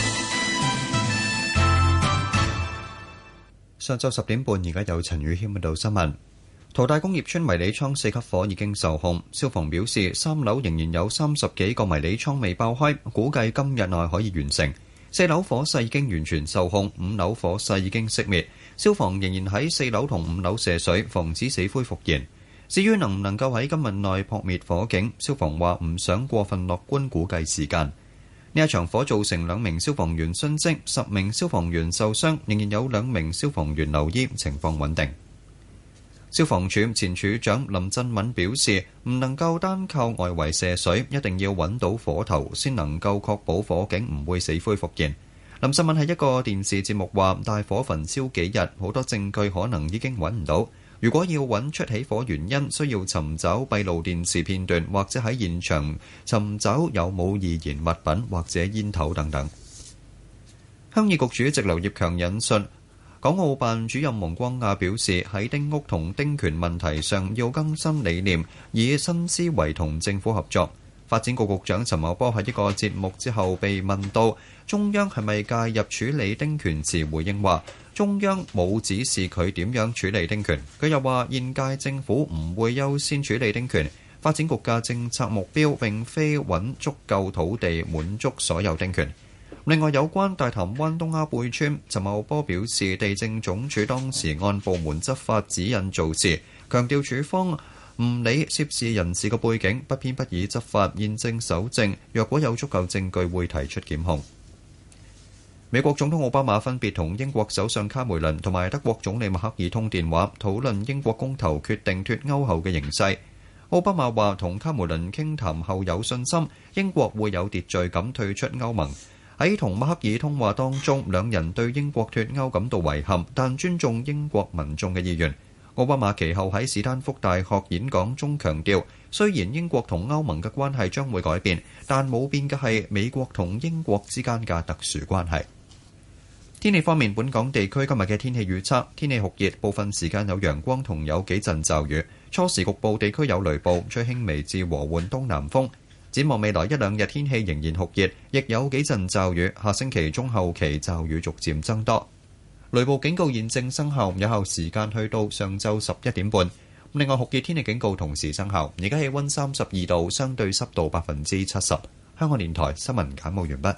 上晝十點半，而家有陳宇謙報道新聞。淘大工業村迷你倉四級火已經受控，消防表示三樓仍然有三十幾個迷你倉未爆開，估計今日內可以完成。四樓火勢已經完全受控，五樓火勢已經熄滅，消防仍然喺四樓同五樓射水，防止死灰復燃。至於能唔能夠喺今日內撲滅火警，消防話唔想過分樂觀估計時間。呢一場火造成兩名消防員殉職，十名消防員受傷，仍然有兩名消防員留醫，情況穩定。消防處前處長林振敏表示，唔能夠單靠外圍射水，一定要揾到火頭先能夠確保火警唔會死灰復燃。林振敏喺一個電視節目話，大火焚燒幾日，好多證據可能已經揾唔到。如果要揾出起火原因，需要尋找閉路電視片段，或者喺現場尋找有冇易燃物品或者煙頭等等。鄉議局主席劉業強引述港澳辦主任王光亞表示，喺丁屋同丁權問題上要更新理念，以新思維同政府合作。發展局局長陳茂波喺一個節目之後被問到中央係咪介入處理丁權時，回應話中央冇指示佢點樣處理丁權。佢又話現屆政府唔會優先處理丁權，發展局嘅政策目標並非揾足夠土地滿足所有丁權。另外有關大潭灣東鴉貝村，陳茂波表示地政總署當時按部門執法指引做事，強調署方唔理涉事人士嘅背景，不偏不倚執法，現正搜證，若果有足夠證據會提出檢控。美國總統奧巴馬分別同英國首相卡梅倫同埋德國總理默克爾通電話，討論英國公投決定脫歐後嘅形勢。奧巴馬話同卡梅倫傾談後有信心，英國會有秩序咁退出歐盟。喺同默克爾通話當中，兩人對英國脫歐感到遺憾，但尊重英國民眾嘅意願。奧巴馬其後喺史丹福大學演講中強調，雖然英國同歐盟嘅關係將會改變，但冇變嘅係美國同英國之間嘅特殊關係。天氣方面，本港地區今日嘅天氣預測，天氣酷熱，部分時間有陽光同有幾陣驟雨，初時局部地區有雷暴，吹輕微至和緩東南風。展望未來一兩日天氣仍然酷熱，亦有幾陣驟雨。下星期中後期驟雨逐漸增多，雷暴警告現正生效，有效時間去到上晝十一點半。另外酷熱天氣警告同時生效。而家氣溫三十二度，相對濕度百分之七十。香港電台新聞簡報完畢。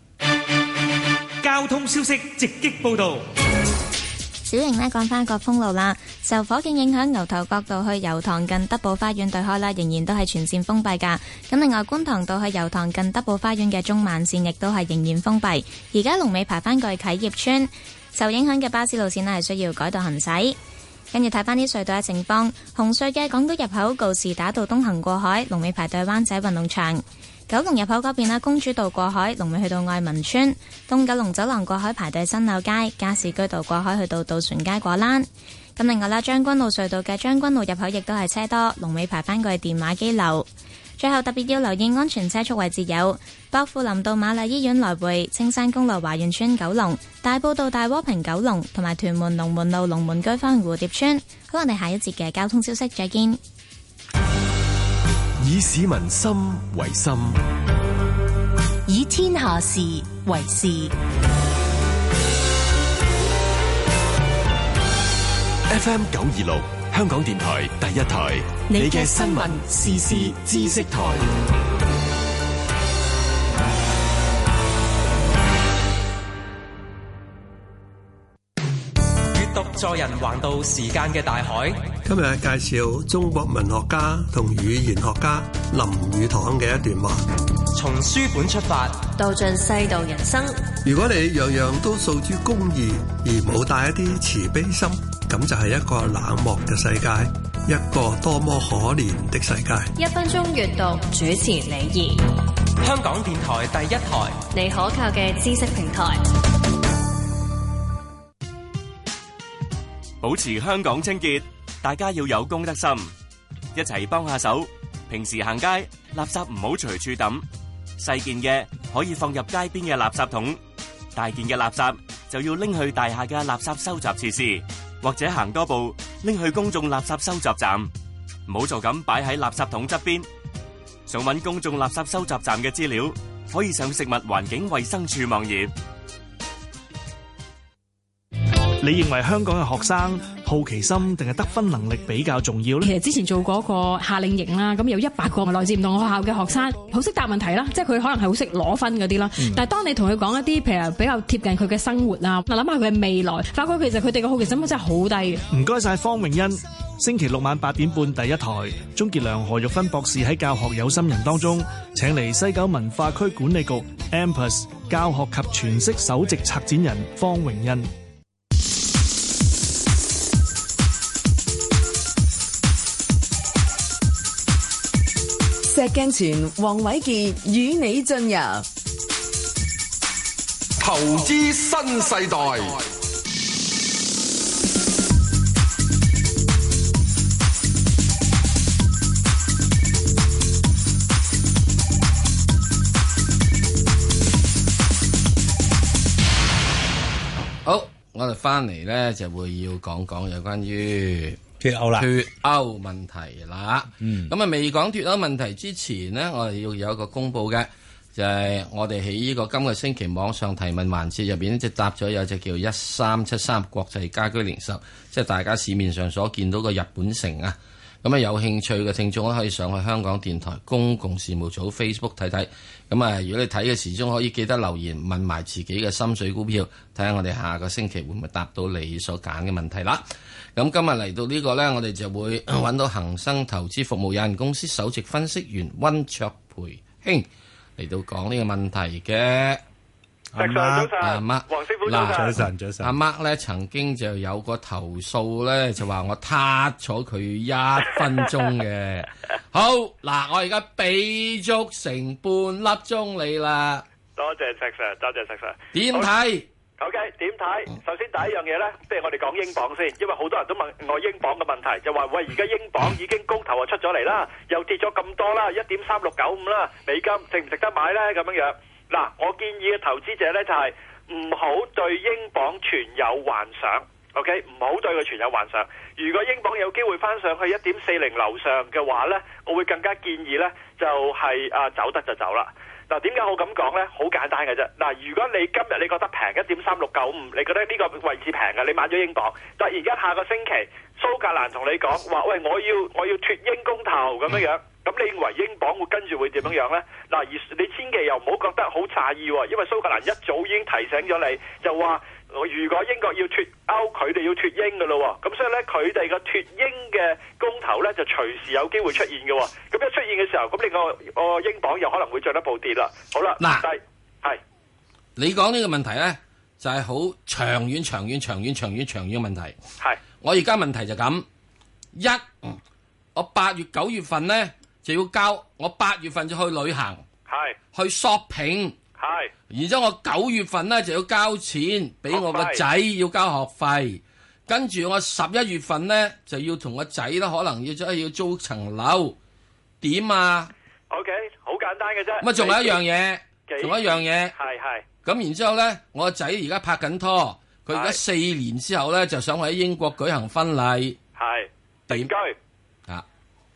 交通消息直擊報道。 小型呢講翻個封路啦，受火警影響，牛頭角道去油塘近德寶花園對開啦，仍然都係全線封閉噶。咁另外觀塘道去油塘近德寶花園嘅中慢線亦都係仍然封閉。而家龍尾排翻過去啟業村，受影響嘅巴士路線呢係需要改道行駛。跟住睇翻啲隧道嘅情況，紅隧嘅港島入口告士打道東行過海，龍尾排到灣仔運動場。九龍入口嗰邊啦，公主道過海，龍尾去到愛民村；東九龍走廊過海排隊新柳街，加士居道過海去到渡船街果欄。 咁另外啦，將軍澳隧道嘅將軍澳入口亦都係車多，龍尾排返過去電話機樓。最後特別要留意安全車速位置有薄扶林道瑪麗醫院來回、青山公路華園村九龍、大埔道大窩坪九龍同埋屯門龍門路龍門居返蝴蝶村。好，我哋下一節嘅交通消息再見。 以市民心為心， 以天下事為事。 F M 九二六香港電台第一台，你嘅新聞時事知識台。 閱讀助人橫渡時間嘅大海。 今日介紹中國文學家同語言學家林語堂嘅一段話： 從書本出發， 道盡世道人生。 如果你樣樣都訴諸公義，而冇帶一啲慈悲心，咁就係一個冷漠嘅世界，一個多麼可憐的世界。 一分鐘閱讀，主持李怡， 香港電台第一台， 你可靠嘅知識平台。 保持香港清潔，大家要有公德心，一齊幫下手。平時行街，垃圾唔好隨處抌，細件嘅可以放入街邊嘅垃圾桶，大件嘅垃圾就要拎去大廈嘅垃圾收集設施，或者行多步拎去公眾垃圾收集站，唔好就咁擺喺垃圾桶側邊。想搵公眾垃圾收集站嘅資料，可以上食物環境衛生署網頁。 你認為香港嘅學生好奇心定係得分能力比較重要呢？ 其實之前做過一個夏令營啦，咁有一百個來自唔同學校嘅學生，好識答問題啦，即係佢可能係好識攞分嗰啲啦。嗯、但係當你同佢講一啲譬如比較貼近佢嘅生活啊，嗱諗下佢嘅未來，發覺其實佢哋嘅好奇心真係好低嘅。唔該晒方永欣，星期六晚八點半第一台，鍾傑良、何玉芬博士喺教學有心人當中請嚟西九文化區管理局 M P A S 教學及全息首席策展人方永欣。 石鏡泉、黃偉傑與你進入投資新世代。 好，我哋翻嚟咧就會要講講有關於脫歐啦， 脫歐問題啦。 嗯， 咁啊未講脫歐問題之前呢，我哋要有一個公佈嘅，就係、是、我哋喺呢個今個星期網上提問環節入邊，即係答咗有隻叫一三七三國際家居零售，即係大家市面上所見到嘅日本城啊。咁啊有興趣嘅聽眾可以上去香港電台公共事務組 Facebook 睇睇。咁啊，如果你睇嘅時鐘可以記得留言問埋自己嘅心水股票，睇下我哋下個星期會唔會答到你所揀嘅問題啦。咁今日嚟到呢個呢，我哋就會揾到恒生投資服務有限公司首席分析員溫卓培兄嚟到講呢個問題嘅。 阿媽， 阿媽， 黃師傅早晨， 早晨，早晨。 阿媽咧曾經就有個投訴咧，就話我撻咗佢一分鐘嘅。好嗱，我而家俾足成半粒鐘你啦。 多謝石 Sir，多謝石 Sir。 點睇 ？OK，點睇？首先第一樣嘢咧，不如我哋講英鎊先，因為好多人都問我英鎊嘅問題，就話喂，而家英鎊已經公投啊出咗嚟啦，又跌咗咁多啦，一點三六九五啦，美金值唔值得買咧？咁樣樣。嗱，我建議嘅投資者呢，就係唔好對英鎊存有幻想 ，OK， 唔好對佢存有幻想。如果英鎊有機會翻上去一點四零樓上嘅話呢，我會更加建議呢，就係、是、啊走得就走啦。嗱，點解我咁講呢？好簡單嘅啫。嗱，如果你今日你覺得平一點三六九五，你覺得呢個位置平嘅，你買咗英鎊，突然間下個星期蘇格蘭同你講話，喂，我要我要脫英公投咁樣樣。咁你認為英鎊會跟住會點樣樣呢？嗱，而你千祈又唔好覺得好詫異喎，因為蘇格蘭一早已經提醒咗你，就話如果英國要脫歐，佢哋要脫英嘅咯。咁所以呢，佢哋個脫英嘅公投呢，就隨時有機會出現嘅。咁一出現嘅時候，咁你個個英鎊又可能會進一步跌啦。好啦， 嗱， 係你講呢個問題呢，就係、是、好長遠、長遠、長遠、長遠、長遠嘅問題。 係我而家問題就咁一，我八月九月份呢。就要交，我八月份就去旅行， 係去 shopping， 係， 然之後我九月份咧就要交錢俾我個仔要交學費， 跟住我十一月份咧就要同個仔咧，可能要真係要租層樓，點啊 ？OK， 好簡單嘅啫。 咁啊，仲有一樣嘢，仲有一樣嘢。 係係。 咁然之後咧，我個仔而家拍緊拖，佢而家四年之後咧就想喺英國舉行婚禮。 係。定居。 啊。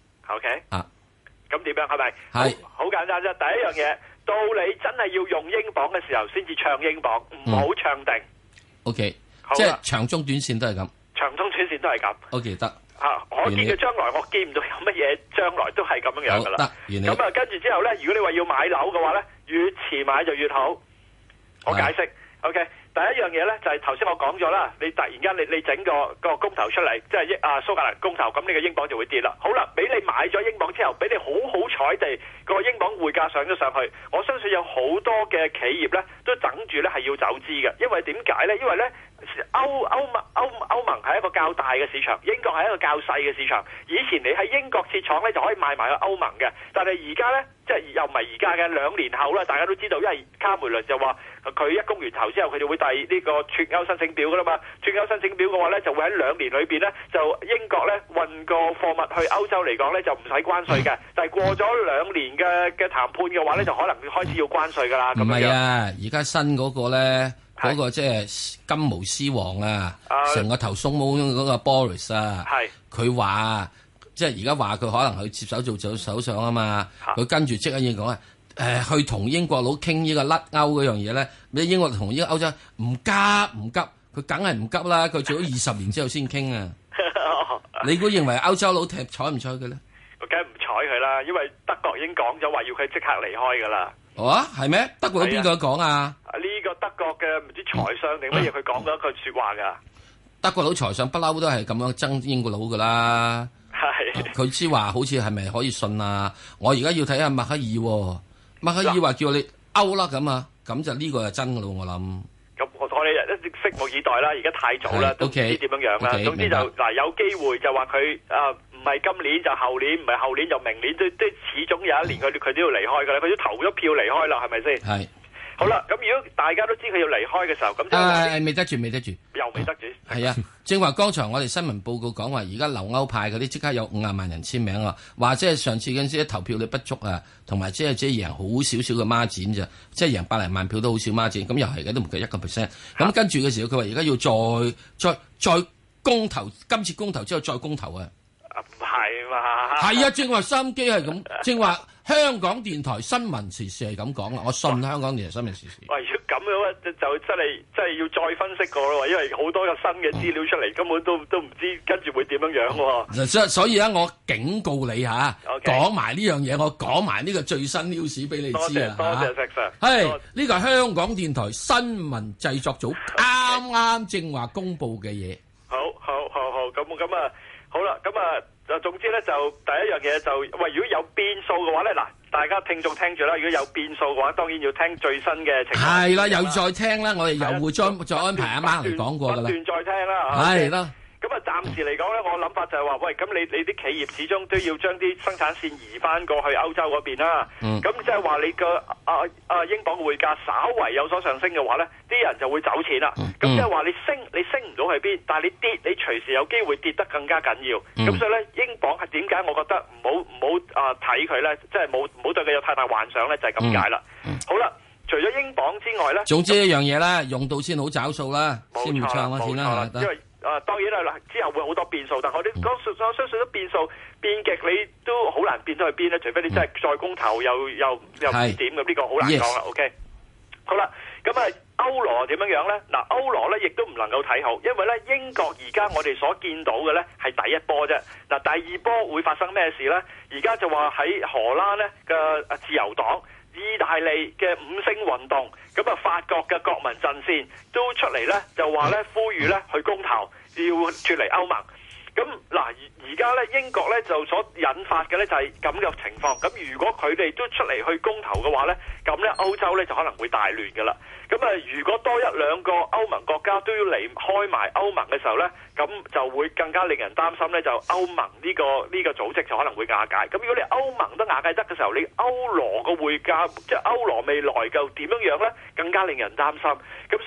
OK。 啊。 咁點樣係咪？ 係。 好簡單啫。第一樣嘢，到你真係要用英鎊嘅時候，先至唱英鎊，唔好唱定。 OK。即係長中短線都係咁， 長中短線都係咁。 O K 得啊，我見嘅將來我見唔到有乜嘢將來都係咁樣樣噶啦。 得， 咁啊，跟住之後咧，如果你話要買樓嘅話咧，越遲買就越好。我解釋 ，OK。第一樣嘢咧就係頭先我講咗啦，你突然間你你整個個公投出嚟，即係英啊蘇格蘭公投，咁你個英鎊就會跌啦。好啦，俾你買咗英鎊之後，俾你好好彩地個英鎊匯價上咗上去，我相信有好多嘅企業咧都等住咧係要走資嘅，因為點解咧？因為咧歐歐盟歐歐盟係一個較大嘅市場，英國係一個較細嘅市場。以前你喺英國設廠咧就可以賣埋去歐盟嘅，但係而家咧即係又唔係而家嘅兩年後啦，大家都知道，因為卡梅倫就話佢一公完頭之後，佢就會遞呢個脱歐申請表噶啦嘛。脱歐申請表嘅話咧，就會喺兩年裏邊咧，就英國咧運個貨物去歐洲嚟講咧就唔使關稅嘅，但係過咗兩年嘅嘅談判嘅話咧，就可能開始要關稅噶啦。 唔係啊，而家新嗰個咧。嗰、那個即係金毛獅王啊，成、uh, 個頭鬆毛嗰個 Boris 啊，佢話即係而家話佢可能去接手做做首相啊嘛，佢跟住即刻要講啊，誒、呃、去同英國佬傾呢個甩歐嗰樣嘢咧，你英國同呢個歐洲唔急唔急，佢梗係唔急啦，佢做咗二十年之後先傾啊，你估認為歐洲佬踢睬唔睬佢咧？ 我梗係唔睬佢啦，因為德國已經講咗話要佢即刻離開噶啦。 哦，係咩？德國邊個講啊？ 呢、這個德國嘅唔知財相定乜嘢，佢講咗一句說話噶。 德國佬財相不嬲都係咁樣憎英國佬噶啦。係。佢知話好似係咪可以信啊？我而家要睇下默克爾、啊，默克爾話叫你歐啦咁啊，咁就呢個係真噶咯，我諗。咁我我哋一直拭目以待啦，而家太早啦，都唔知點樣樣啦。Okay, 總之就嗱有機會就話佢啊。唔係今年就後年，唔係後年就明年，都都始終有一年佢佢都要離開㗎啦，佢都投咗票離開啦，係咪先？係。好啦，咁如果大家都知佢要離開嘅時候，咁就誒未得住，未得住， 又未得住。 係啊，正話剛才我哋新聞報告講話，而家留歐派嗰啲即刻有五十萬人簽名啊，話即係上次嗰陣時投票率不足啊，同埋即係即係贏好少少嘅孖展咋，即係贏百零萬票都好少孖展，咁又係嘅都唔夠一個 percent。咁跟住嘅時候，佢話而家要再再再公投，今次公投之後再公投啊！ 唔係嘛？ 係啊，正話收音機係咁，正話香港電台新聞時事係咁講啦，我信香港電台新聞時事。 喂，如果咁樣就就真係真係要再分析過咯，因為好多個新嘅資料出嚟，根本都都唔知跟住會點樣樣喎。 所所以咧，我警告你嚇，講埋呢樣嘢，我講埋呢個最新 news 俾你知啊！ 多謝石 Sir。 係呢個係香港電台新聞製作組啱啱正話公佈嘅嘢。 好好好好，咁咁啊。好啦，咁啊，就總之咧，就第一樣嘢就，喂，如果有變數嘅話咧，嗱，大家聽眾聽住啦，如果有變數嘅話，當然要聽最新嘅情況。係啦，又再聽啦，我哋又會再再安排阿媽嚟講過噶啦。不斷再聽啦，係啦。咁啊，暫時嚟講咧，我諗法就係話，喂，咁你你啲企業始終都要將啲生產線移翻過去歐洲嗰邊啦。咁即係話你個啊啊英鎊匯價稍為有所上升嘅話咧，啲人就會走錢啦。咁即係話你升你升唔到去邊，但係你跌你隨時有機會跌得更加緊要。咁、嗯、所以咧，英鎊係點解我覺得唔好唔好啊睇佢咧，即係冇唔好對佢有太大幻想咧，就係咁解啦。好啦，除咗英鎊之外咧， 總之一樣嘢啦，用到先好找數啦，先唔唱啦，先啦， 因為啊，當然啦，之後會好多變數，但係我哋講我相信都變數變極，你都好難變到去邊咧，除非你真係再公投又又又唔知點咁，呢、這個好難講啦。Yes. OK， 好啦，咁啊歐羅點樣樣咧？嗱，歐羅咧亦都唔能夠睇好，因為咧英國而家我哋所見到嘅咧係第一波啫。嗱，第二波會發生咩事咧？而家就話喺荷蘭咧嘅自由黨、意大利嘅五星運動，咁啊法國嘅國民陣線都出嚟咧，就話咧呼籲咧去公投，要脫離歐盟。咁嗱，而家咧英國咧就所引發嘅咧就係咁嘅情況。咁如果佢哋都出嚟去公投嘅話咧，咁咧歐洲咧就可能會大亂㗎啦。咁啊，如果多一兩個歐盟國家都要離開埋歐盟嘅時候咧，咁就會更加令人擔心咧，就歐盟呢個呢個組織就可能會瓦解。咁如果你歐盟都瓦解得嘅時候，你歐羅個匯價即係歐羅未來就點樣樣咧，更加令人擔心。咁所以咧，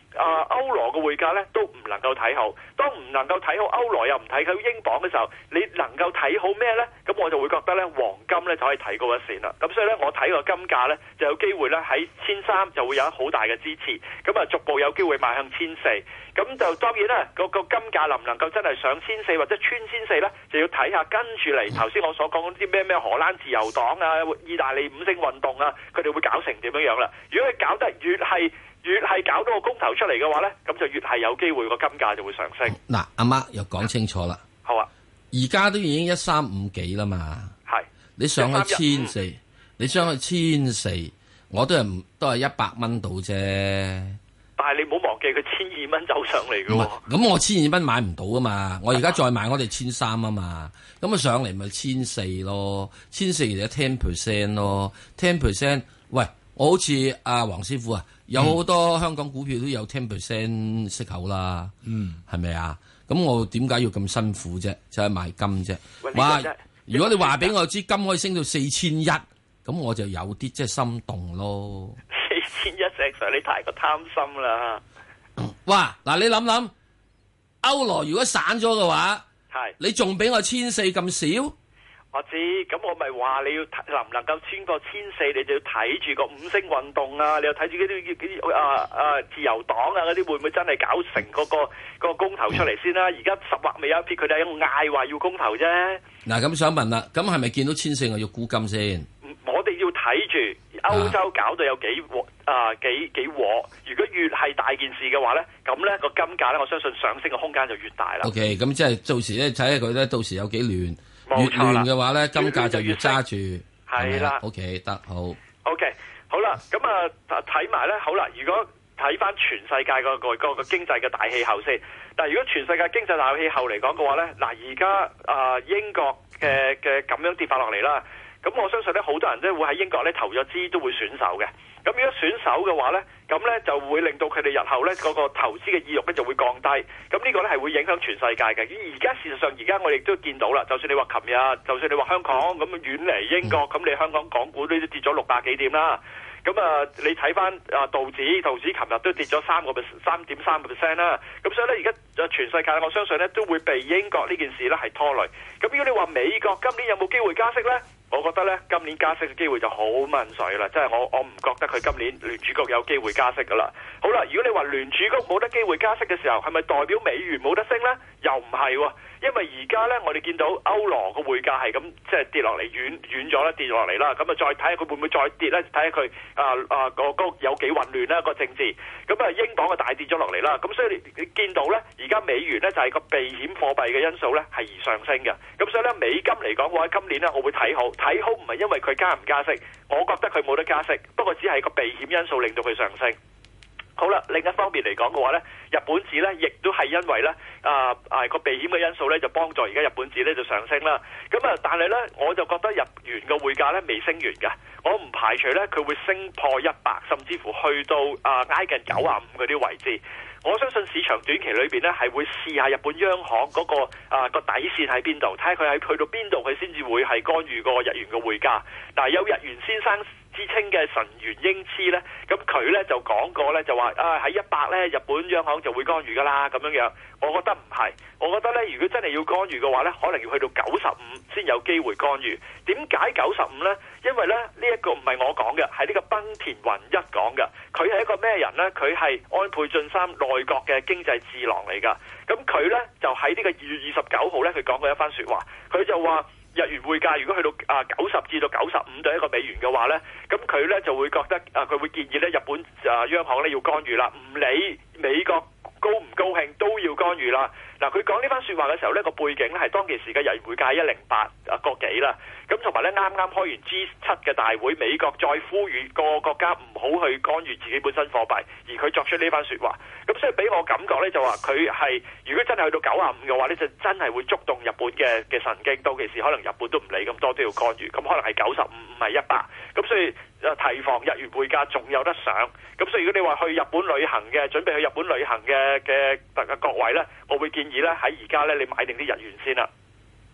啊歐羅嘅匯價咧都唔能夠睇好。當唔能夠睇好歐羅又唔睇好英鎊嘅時候，你能夠睇好咩咧？咁我就會覺得咧黃金咧就可以睇高一線啦。咁所以咧我睇個金價咧就有機會咧喺千三就會有好大嘅支持，咁啊逐步有機會邁向千四。咁就當然啦，個個金價能唔能夠真係上千四或者穿千四咧，就要睇下跟住嚟頭先我所講嗰啲咩咩荷蘭自由黨啊、意大利五星運動啊，佢哋會搞成點樣樣啦？如果佢搞得越係越係搞到個公投出嚟嘅話咧，咁就越係有機會個金價就會上升。 嗱，阿媽又講清楚啦。 好啊， 而家都已經一三五幾啦嘛。 係你上去千四，你上去千四，我都係唔都係一百蚊到啫。 但係你唔好忘記佢千二蚊走上嚟嘅喎。 咁我千二蚊買唔到啊嘛，我而家再買我哋千三啊嘛，咁啊上嚟咪千四咯，千四其實 ten percent 咯 ，ten percent。喂，我好似阿黃師傅啊，有好多香港股票都有 ten percent 息口啦，嗯，係咪啊？咁我點解要咁辛苦啫？就係買金啫。哇！如果你話俾我知金可以升到四千一，咁我就有啲即係心動咯。 千一石 Sir， 你太過貪心啦！ 哇，嗱你諗諗，歐羅如果散咗嘅話， 係你仲俾我千四咁少？ 我知，咁我咪話你要能唔能夠穿過千四，你就要睇住個五星運動啊！你又睇住嗰啲啲啊啊自由黨啊嗰啲會唔會真係搞成嗰、嗰個、嗰個公投出嚟先啦？而家十劃未有一撇，佢哋喺度嗌話要公投啫。嗱，咁想問啦，咁係咪見到千四我要沽金先？ 我哋要睇住。歐洲搞到有幾鑊啊幾幾鑊，如果越係大件事嘅話咧，咁咧個金價咧，我相信上升嘅空間就越大啦。 O K， 咁即係到時咧睇下佢咧，到時有幾亂，越亂嘅話咧，金價就越揸住。係啦。O K， 得好。 O K， 好啦，咁啊睇埋咧，好啦，如果睇翻全世界個個個個經濟嘅大氣候先，但係如果全世界經濟大氣候嚟講嘅話咧，嗱而家啊英國嘅嘅咁樣跌法落嚟啦。咁我相信咧，好多人都會喺英國咧投咗資，都會選手嘅。咁如果選手嘅話咧，咁咧就會令到佢哋日後咧嗰個投資嘅意欲咧就會降低。咁呢個咧係會影響全世界嘅。而家事實上，而家我哋都見到啦。就算你話琴日，就算你話香港咁遠離英國，咁你香港港股都跌咗六百幾點啦。咁啊，你睇翻啊道指，道指琴日都跌咗三個 percent， 三點三個 percent 啦。咁所以咧，而家全世界我相信咧都會被英國呢件事咧係拖累。咁如果你話美國今年有冇機會加息咧？我覺得咧，今年加息嘅機會就好問水啦，即係我我唔覺得佢今年聯儲局有機會加息噶啦。好啦，如果你話聯儲局冇得機會加息嘅時候，係咪代表美元冇得升呢？又唔係喎，因為而家呢，我哋見到歐羅個匯價係咁即係跌落嚟，軟軟咗啦，跌落嚟啦。咁啊，再睇下佢會唔會再跌呢？睇下佢啊啊個個有幾混亂啦個政治。咁啊，英鎊啊大跌咗落嚟啦。咁所以你你見到呢，而家美元呢就係個避險貨幣嘅因素呢係而上升嘅。咁所以呢，美金嚟講嘅話，今年呢我會睇好。睇好唔係因為佢加唔加息，我覺得佢冇得加息，不過只係個避險因素令到佢上升。好啦，另一方面嚟講嘅話呢，日本紙呢亦都係因為呢啊啊個避險嘅因素呢，就幫助而家日本紙呢就上升啦。咁啊，但係呢，我就覺得日元嘅匯價呢未升完㗎，我唔排除呢，佢會升破一百，甚至乎去到啊挨近九十五嗰啲位置。我相信市場短期裏邊咧係會試下日本央行嗰、那個啊個底線喺邊度，睇下佢喺去到邊度，佢先至會係干預個日元嘅匯價。嗱，有日元先生之稱嘅神原英姿咧，咁佢咧就講過咧，就話啊喺一百咧，日本央行就會干預噶啦咁樣樣。我覺得唔係，我覺得咧，如果真係要干預嘅話咧，可能要去到九十五先有機會干預。點解九十五咧？因為咧呢一、這個唔係我講嘅，係呢個濱田宏一講嘅。佢係一個咩人咧？佢係安倍晉三內閣嘅經濟智囊嚟㗎。咁佢咧就喺呢個二月二十九號咧，佢講過一番説話。佢就話日元匯價如果去到啊九十至到九十五對一個美元嘅話咧，咁佢咧就會覺得啊，佢會建議咧日本啊央行咧要干預啦，唔理美國高唔高興都要干預啦。嗱，佢講呢番説話嘅時候呢，個背景咧係當其時嘅日元匯價係一零八啊個幾啦。咁同埋咧啱啱開完 G 七嘅大會，美國再呼籲各個國家唔好去干預自己本身貨幣，而佢作出呢番説話。咁所以俾我感覺咧就話佢係如果真係去到九十五嘅話咧，就真係會觸動日本嘅嘅神經。到其時可能日本都唔理咁多都要干預，咁可能係九十五唔係一百。咁所以誒提防日元匯價仲有得上。咁所以如果你話去日本旅行嘅，準備去日本旅行嘅嘅各位咧，我會建議咧喺而家咧你買定啲日元先啦。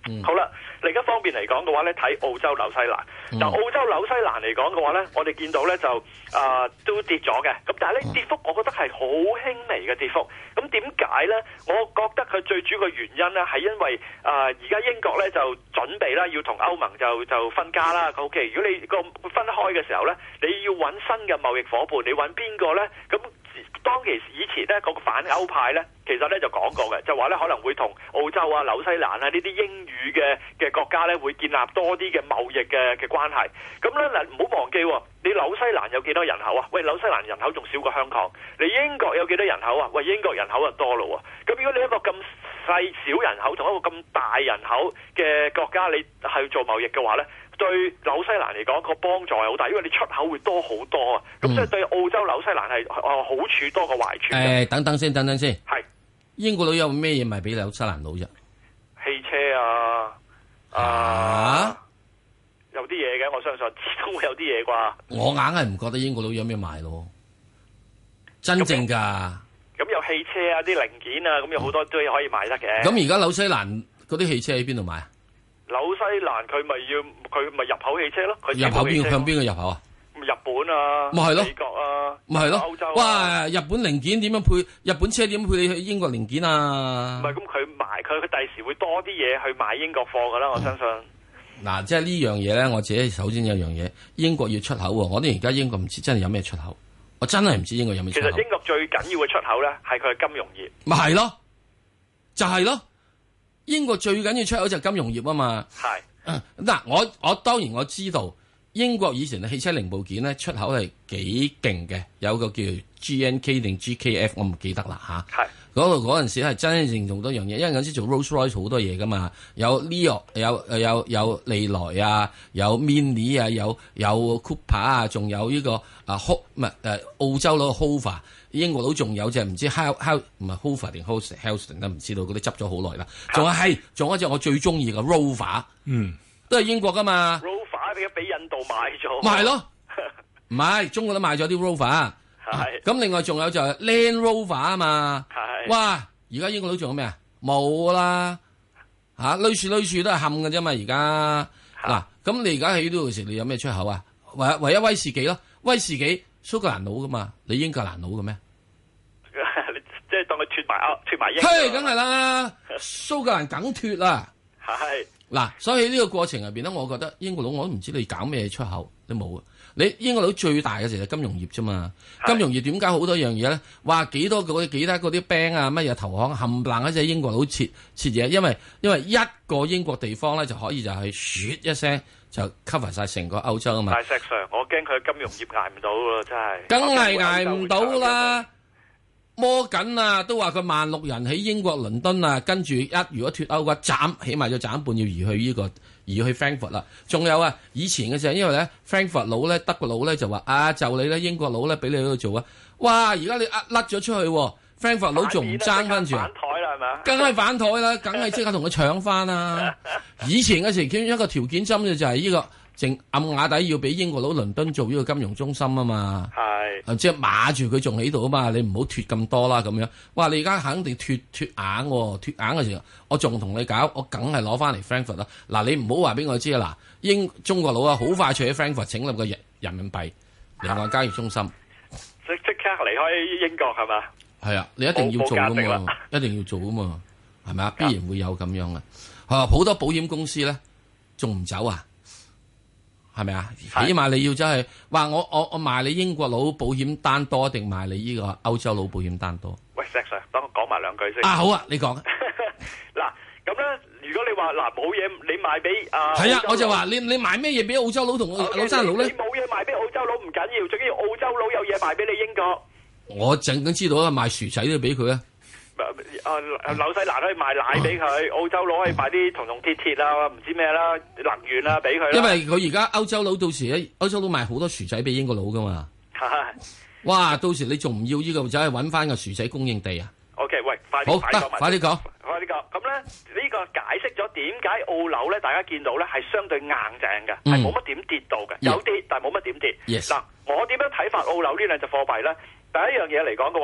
嗯、好啦，另一方面嚟講嘅話咧，睇澳洲、紐西蘭。嗱、嗯，澳洲、紐西蘭嚟講嘅話咧，我哋見到咧就啊、呃、都跌咗嘅。咁但係咧跌幅，我覺得係好輕微嘅跌幅。咁點解咧？我覺得佢最主要嘅原因咧係因為啊而家英國咧就準備啦，要同歐盟就就分家啦。O K， 如果你個分開嘅時候咧，你要揾新嘅貿易夥伴，你揾邊個咧？咁當其時以前咧，嗰個反歐派咧，其實咧就講過嘅，就話咧可能會同澳洲啊、紐西蘭啊呢啲英語嘅嘅國家咧，會建立多啲嘅貿易嘅嘅關係。咁咧嗱，唔好忘記，你紐西蘭有幾多人口啊？喂，紐西蘭人口仲少過香港。你英國有幾多人口啊？喂，英國人口就多咯喎。咁如果你一個咁細小人口同一個咁大人口嘅國家，你去做貿易嘅話咧，對紐西蘭嚟講個幫助係好大，因為你出口會多好多啊。咁、嗯、所以對澳洲、紐西蘭係哦好處多過壞處。 誒、欸，等等先，等等先。 係英國佬有咩嘢賣俾紐西蘭佬啫？ 汽車啊，啊，啊有啲嘢嘅，我相信始終會有啲嘢啩。 我硬係唔覺得英國佬有咩賣咯，真正噶。 咁有汽車啊，啲零件啊，咁有好多都可以賣得嘅。 咁而家紐西蘭嗰啲汽車喺邊度買啊？ 紐西蘭佢咪要佢咪入口汽車咯？佢入口邊向邊個入口啊？ 日本啊， 咪係咯， 美國啊， 咪係咯， 歐洲啊。 哇！日本零件點樣配？日本車點配你去英國零件啊？ 唔係咁佢賣佢佢第時會多啲嘢去買英國貨噶啦，我相信。 嗱、嗯，即係呢樣嘢咧，我自己首先有樣嘢，英國要出口喎。我哋而家英國唔知真係有咩出口，我真係唔知英國有咩出口。 其實英國最緊要嘅出口咧，係佢嘅金融業。 咪係咯，就係、是、咯，英國最緊要出口就係金融業啊嘛。係。嗱、啊，我我當然我知道英國以前嘅汽車零部件咧出口係幾勁嘅，有個叫 G N K 定 G K F， 我唔記得啦吓。係嗰度嗰陣時係真正做多樣嘢，因為嗰陣時做 Rolls Royce 好多嘢噶嘛，有 Leo 有有有有利來啊，有 Mini 啊，有有 Cooper 啊，仲有呢、這個啊 Ho 唔係誒澳洲佬 Hoover， 英國佬仲有隻唔知 How How 唔係 Hoover 定 Helston 都唔知道，嗰啲執咗好耐啦。仲有係仲有一隻我最中意嘅 Rover， 嗯，都係英國噶嘛。 Rover 俾俾印度買咗， 咪係咯，唔係中國都買咗啲 Rover。係咁，另外仲有就係 Land Rover 啊嘛。係哇，而家英國佬仲有咩啊？冇啦吓，類似類似都係冚嘅啫嘛。而家嗱，咁你而家喺呢度時，你有咩出口啊？唯唯一威士忌咯，威士忌蘇格蘭佬噶嘛，你英格蘭佬嘅咩？ 即係當佢脫埋歐脫埋英。 嘿，梗係啦，蘇格蘭梗脫啦。係嗱，所以呢個過程入邊咧，我覺得英國佬我都唔知你搞咩出口，你冇啊。你英國佬最大嘅就係金融業啫嘛，金融業點解好多樣嘢咧？話幾多嗰啲幾多嗰啲 bank 啊，乜嘢投行冚唪唥一隻英國佬切切嘢，因為因為一個英國地方咧就可以就係噓一聲就 cover 晒成個歐洲啊嘛。 大石 Sir，我驚佢金融業捱唔到咯，真係。 梗係捱唔到啦！摩根啊，都話佢萬六人喺英國倫敦啊，跟住一如果脫歐嘅話，斬起碼要斬半，要移去呢、這個移去 Frankfurt 啦。仲有啊，以前嘅時候，因為咧 Frankfurt 佬咧，德國佬咧就話啊，就你咧，英國佬咧俾你喺度做啊。哇！而家你呃甩咗出去 ，Frankfurt 佬仲唔爭翻住啊？反台啦係嘛？梗係反台啦，梗係即刻同佢搶翻啦。以前嘅時，其中一個條件針嘅就係呢、這個。正暗啞底要俾英國佬倫敦做呢個金融中心啊嘛，係，即係碼住佢仲喺度啊嘛，你唔好脫咁多啦咁樣。哇！你而家肯定脫脫硬喎，脫硬嘅時候，我仲同你搞，我梗係攞翻嚟 Frankfurt 啦。嗱，你唔好話俾我知啊！嗱，英中國佬啊，好快脆喺 Frankfurt 整立個人人民幣離岸交易中心， 即即刻離開英國係嘛？係啊， 你一定要做噶嘛，一定要做啊嘛，係咪啊？必然會有咁樣啊！啊，好多保險公司咧，仲唔走啊？係咪啊？起碼你要真係話我我我賣你英國佬保險單多定賣你呢個歐洲佬保險單多？ 喂，石 Sir，等我講埋兩句先。 啊，好啊，你講。 嗱，咁咧，如果你話嗱冇嘢，你賣俾啊， 係啊，我就話你你賣咩嘢俾澳洲佬同紐西蘭佬咧？ 你冇嘢賣俾澳洲佬唔緊要，最緊要澳洲佬有嘢賣俾你英國。 我淨係知道啊，賣薯仔都俾佢啊。 啊，紐西蘭可以賣奶俾佢，澳洲佬可以賣啲銅銅鐵鐵啊，唔知咩啦，能源啊俾佢。 因為佢而家歐洲佬到時咧，歐洲佬賣好多薯仔俾英國佬噶嘛。哇，到時你仲唔要呢、這個，就係揾翻個薯仔供應地啊 ？OK，喂，快啲，快啲講，快啲講， 快啲講。咁咧呢、這個解釋咗點解澳樓咧，大家見到咧係相對硬淨嘅，係冇乜點跌到嘅，有跌但係冇乜點跌。嗱、yes. 我點樣睇法澳樓呢兩隻貨幣咧？第一樣嘢嚟講嘅話咧。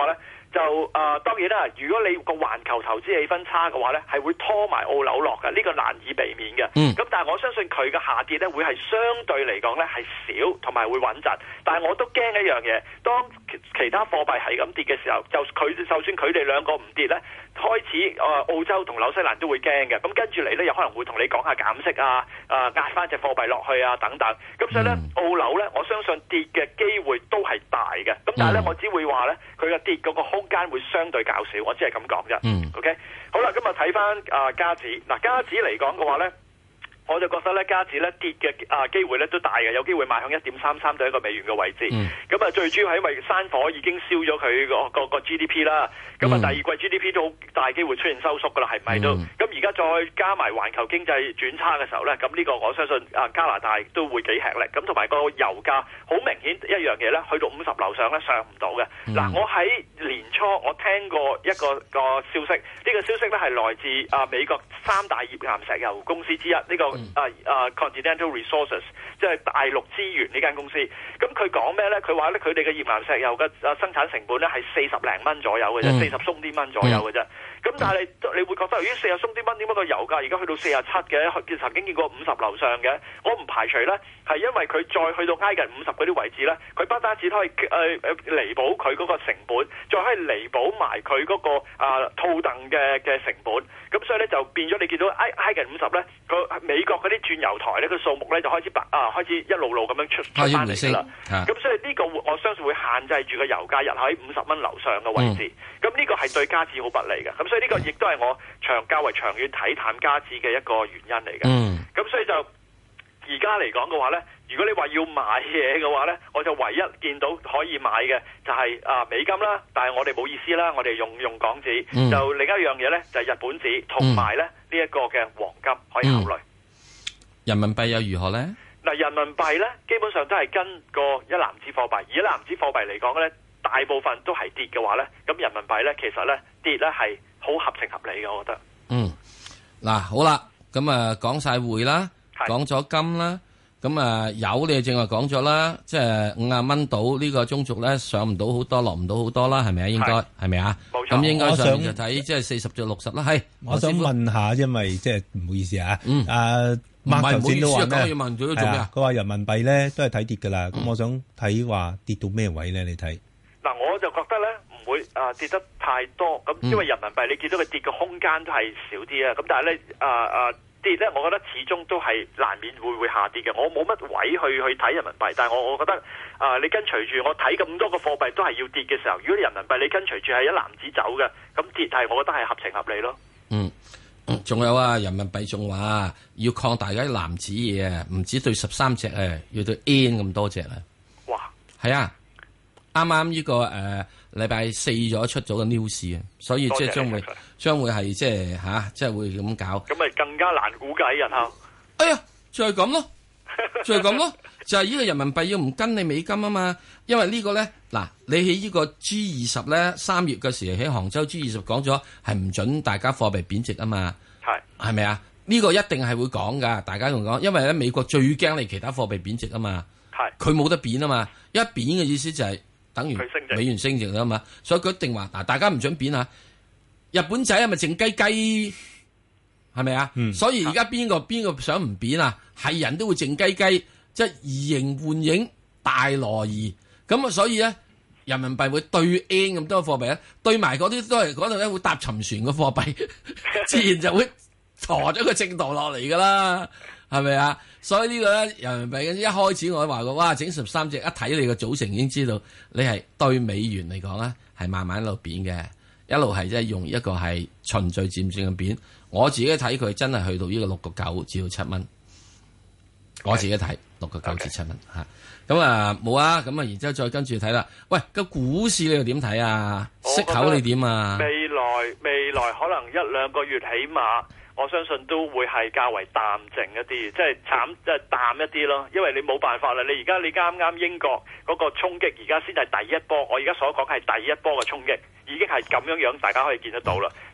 就啊、呃、當然啦，如果你個環球投資氣氛差嘅話咧，係會拖埋澳紐落嘅，呢、這個難以避免嘅。咁、嗯、但係我相信佢嘅下跌咧，會係相對嚟講咧係少，同埋會穩陣。但係我都驚一樣嘢，當其他貨幣係咁跌嘅時候，就佢就算佢哋兩個唔跌咧，開始啊、呃、澳洲同紐西蘭都會驚嘅。咁跟住嚟咧，有可能會同你講下減息啊，啊壓翻隻貨幣落去啊等等。咁所以咧，澳紐咧，我相信跌嘅機會都係大嘅。咁但係咧，我只會話咧，佢嘅跌嗰個空間會相對較少，我只係咁講啫。嗯。OK， 好啦，今日睇翻啊加指，嗱加指嚟講嘅話咧，我就覺得咧加指咧跌嘅啊機會咧都大嘅，有機會邁向一點三三對一個美元嘅位置。咁啊、嗯，最主要係因為山火已經燒咗佢個個個 G D P 啦。咁啊、嗯，第二季 G D P 都好大機會出現收縮噶啦，係咪都？咁而家再加埋環球經濟轉差嘅時候咧，咁呢個我相信啊加拿大都會幾吃力。咁同埋個油價好明顯一樣嘢咧，去到五十樓上咧上唔到嘅。嗱、嗯，我喺年初我聽過一個一個消息，呢、這個消息咧係來自啊美國三大頁岩石油公司之一，呢、這個、嗯、啊啊 Continental Resources， 即係大陸資源呢間公司。咁佢講咩咧？佢話咧佢哋嘅頁岩石油嘅啊生產成本咧係四十零蚊左右嘅啫，四十鬆啲蚊左右嘅啫。咁、嗯、但係你你會覺得咦四十鬆啲蚊點解個油價而家去到四十七嘅？曾經見過五十樓上嘅，我唔排除咧係因為佢再去到挨近五十嗰啲位置咧，佢不單止可以誒誒彌補佢嗰個成本，再可以彌補埋佢嗰個啊套戥嘅嘅成本。咁所以咧就變咗你見到挨挨近五十咧，個美國嗰啲鑽油台咧個數目咧就開始白啊開始一路路咁樣出出翻嚟㗎啦。咁所以呢個我相信會限制住個油價日喺五十蚊樓上嘅位置。咁呢、嗯、個係對加指好不利嘅。咁所以呢個亦都係我長較為長遠睇淡加指嘅一個原因嚟嘅。咁、嗯、所以就而家嚟講嘅話咧，如果你話要買嘢嘅話咧，我就唯一見到可以買嘅就係、是、啊美金啦，但係我哋冇意思啦，我哋用用港紙。嗯、就另一樣嘢咧就係、是、日本紙同埋咧呢一、這個嘅黃金可以考慮。嗯、 人民幣又如何咧？ 嗱，人民幣咧基本上都係跟個一籃子貨幣，而一籃子貨幣嚟講咧，大部分都係跌嘅話咧，咁人民幣咧其實咧跌咧係好合情合理嘅，我覺得。嗯， 嗱好啦，咁啊講晒匯啦，講咗金啦，咁啊油你正話講咗啦，即係五啊蚊到呢個中軸咧上唔到好多，落唔到好多啦，係咪啊？應該係咪啊？冇錯。咁應該上面就睇即係四十至六十啦。係， 我想問下，因為即係唔好意思啊， 嗯， 啊，麥頭先都話咩？ 係啊， 佢話人民幣咧都係睇跌噶啦。咁我想睇話跌到咩位咧？你睇？ 嗱，我就覺得咧唔會啊跌得太多，咁因為人民幣你見到佢跌嘅空間都係少啲啊。咁但係咧啊啊跌咧，我覺得始終都係難免會會下跌嘅。我冇乜位去去睇人民幣，但係我我覺得啊，你跟隨住我睇咁多個貨幣都係要跌嘅時候，如果你人民幣你跟隨住係一籃子走嘅，咁跌係我覺得係合情合理咯。 嗯。仲有啊，人民幣仲話要擴大嗰啲籃子嘢啊，唔止對十三隻啊，要對 N 咁多隻啊。哇！係啊，啱啱呢個誒禮拜四咗出咗個 news 啊，所以即係將會將會係即係吓，即係會咁搞。 咁咪更加難估計日後。 哎呀，就係咁咯，就係咁咯，就係呢個人民幣要唔跟你美金啊嘛，因為呢個咧嗱，你喺呢個 G 二十咧三月嘅時喺杭州 G 二十講咗係唔准大家貨幣貶值啊嘛。係咪啊？呢、這個一定係會講噶，大家同講，因為咧美國最驚你其他貨幣貶值啊嘛。係，佢冇得貶啊嘛，一貶嘅意思就係等於美元升值啦嘛，所以佢一定話嗱，大家唔准貶啊。日本仔係咪靜雞雞？係咪啊？嗯、所以而家邊個邊個想唔貶啊？係人都會靜雞雞，即係移形換影大挪移。咁啊，所以咧人民幣會對 N 咁多貨幣咧，對埋嗰啲都係嗰度咧會搭沉船嘅貨幣，自然就會。馱咗個正道落嚟噶啦，係咪啊？所以呢個咧人民幣一開始我話過，哇！整十三隻，一睇你個組成已經知道你係對美元嚟講咧係慢慢一路貶嘅，一路係即係用一個係循序漸進嘅貶。我自己睇佢真係去到呢個六個九至到七蚊，我自己睇六個九至七蚊吓。咁啊冇啊，咁啊然之後再跟住睇啦。喂，個股市你又點睇啊？息口你點啊？ 未來未來可能一兩個月起碼。我相信都會係較為淡靜一啲，即係慘，即係淡一啲咯。因為你冇辦法啦，你而家你啱啱英國嗰個衝擊，而家先係第一波。我而家所講係第一波嘅衝擊，已經係咁樣樣，大家可以見得到啦。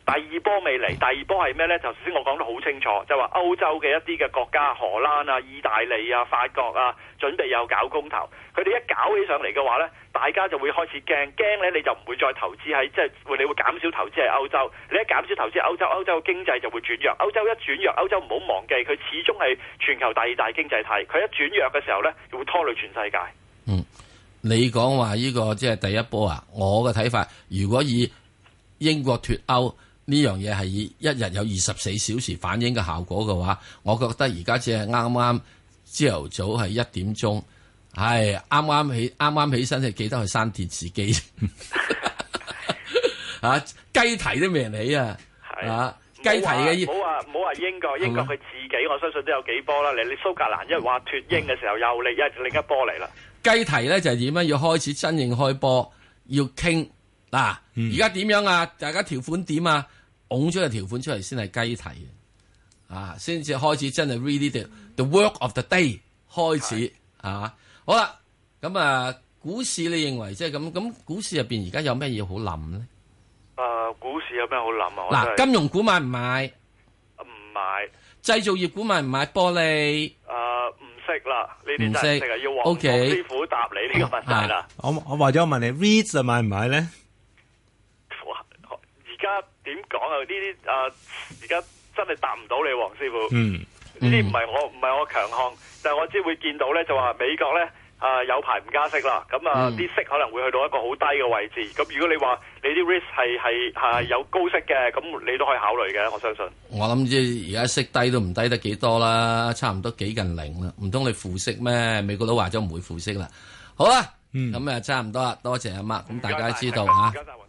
第二波未嚟，第二波係咩呢？就頭先我講得好清楚，就話歐洲嘅一啲嘅國家，荷蘭啊、意大利啊、法國啊，準備又搞公投，佢哋一搞起上嚟嘅話呢，大家就會開始驚，驚呢你就唔會再投資喺即係你會減少投資喺歐洲，你一減少投資歐洲，歐洲嘅經濟就會轉弱，歐洲一轉弱，歐洲唔好忘記佢始終係全球第二大經濟體，佢一轉弱嘅時候呢，就會拖累全世界。 嗯，你講話呢個即係第一波啊，我嘅睇法，如果以英國脫歐呢樣嘢係以一日有二十四小時反映嘅效果嘅話，我覺得而家只係啱啱朝頭早係一點鐘，係啱啱起啱啱起身就記得去閂電視機，啊雞啼都未人起啊，啊雞啼嘅， 唔好話唔好話英國，英國佢自己我相信都有幾波啦。你你蘇格蘭一話脫英嘅時候又嚟一另一波嚟啦。 雞啼咧就係點樣？要開始真正開波，要傾嗱，而家點樣啊？大家條款點啊？拱咗個條款出嚟先係雞啼啊，先至開始真係 really the the work of the day 開始啊！好啦，咁啊，股市你認為即係咁咁？股市入邊而家有咩嘢好諗咧？ 誒、呃，股市有咩好諗啊？ 嗱，金融股買唔買？ 唔買。 製造業股買唔買？玻璃？ 誒、呃，唔識啦，呢啲真係識啊，要黃黃 Okay. 師傅答你呢個問題啦。 我我或者我問你 ，REITs 就買唔買咧？ 而家點講啊？呢啲誒，而家真係答唔到你，黃師傅。 嗯， 呢啲唔係我唔係我強項，但係我只會見到咧，就話美國咧誒、呃、有排唔加息啦。咁啊，啲、嗯、息可能會去到一個好低嘅位置。咁如果你話你啲 risk 係係係有高息嘅，咁你都可以考慮嘅。我相信。我諗即係而家息低都唔低得幾多啦，差唔多幾近零啦。唔通你負息咩？美國都話咗唔會負息啦。好啦，咁啊、嗯、差唔多啦，多謝阿媽。咁大家知道嚇。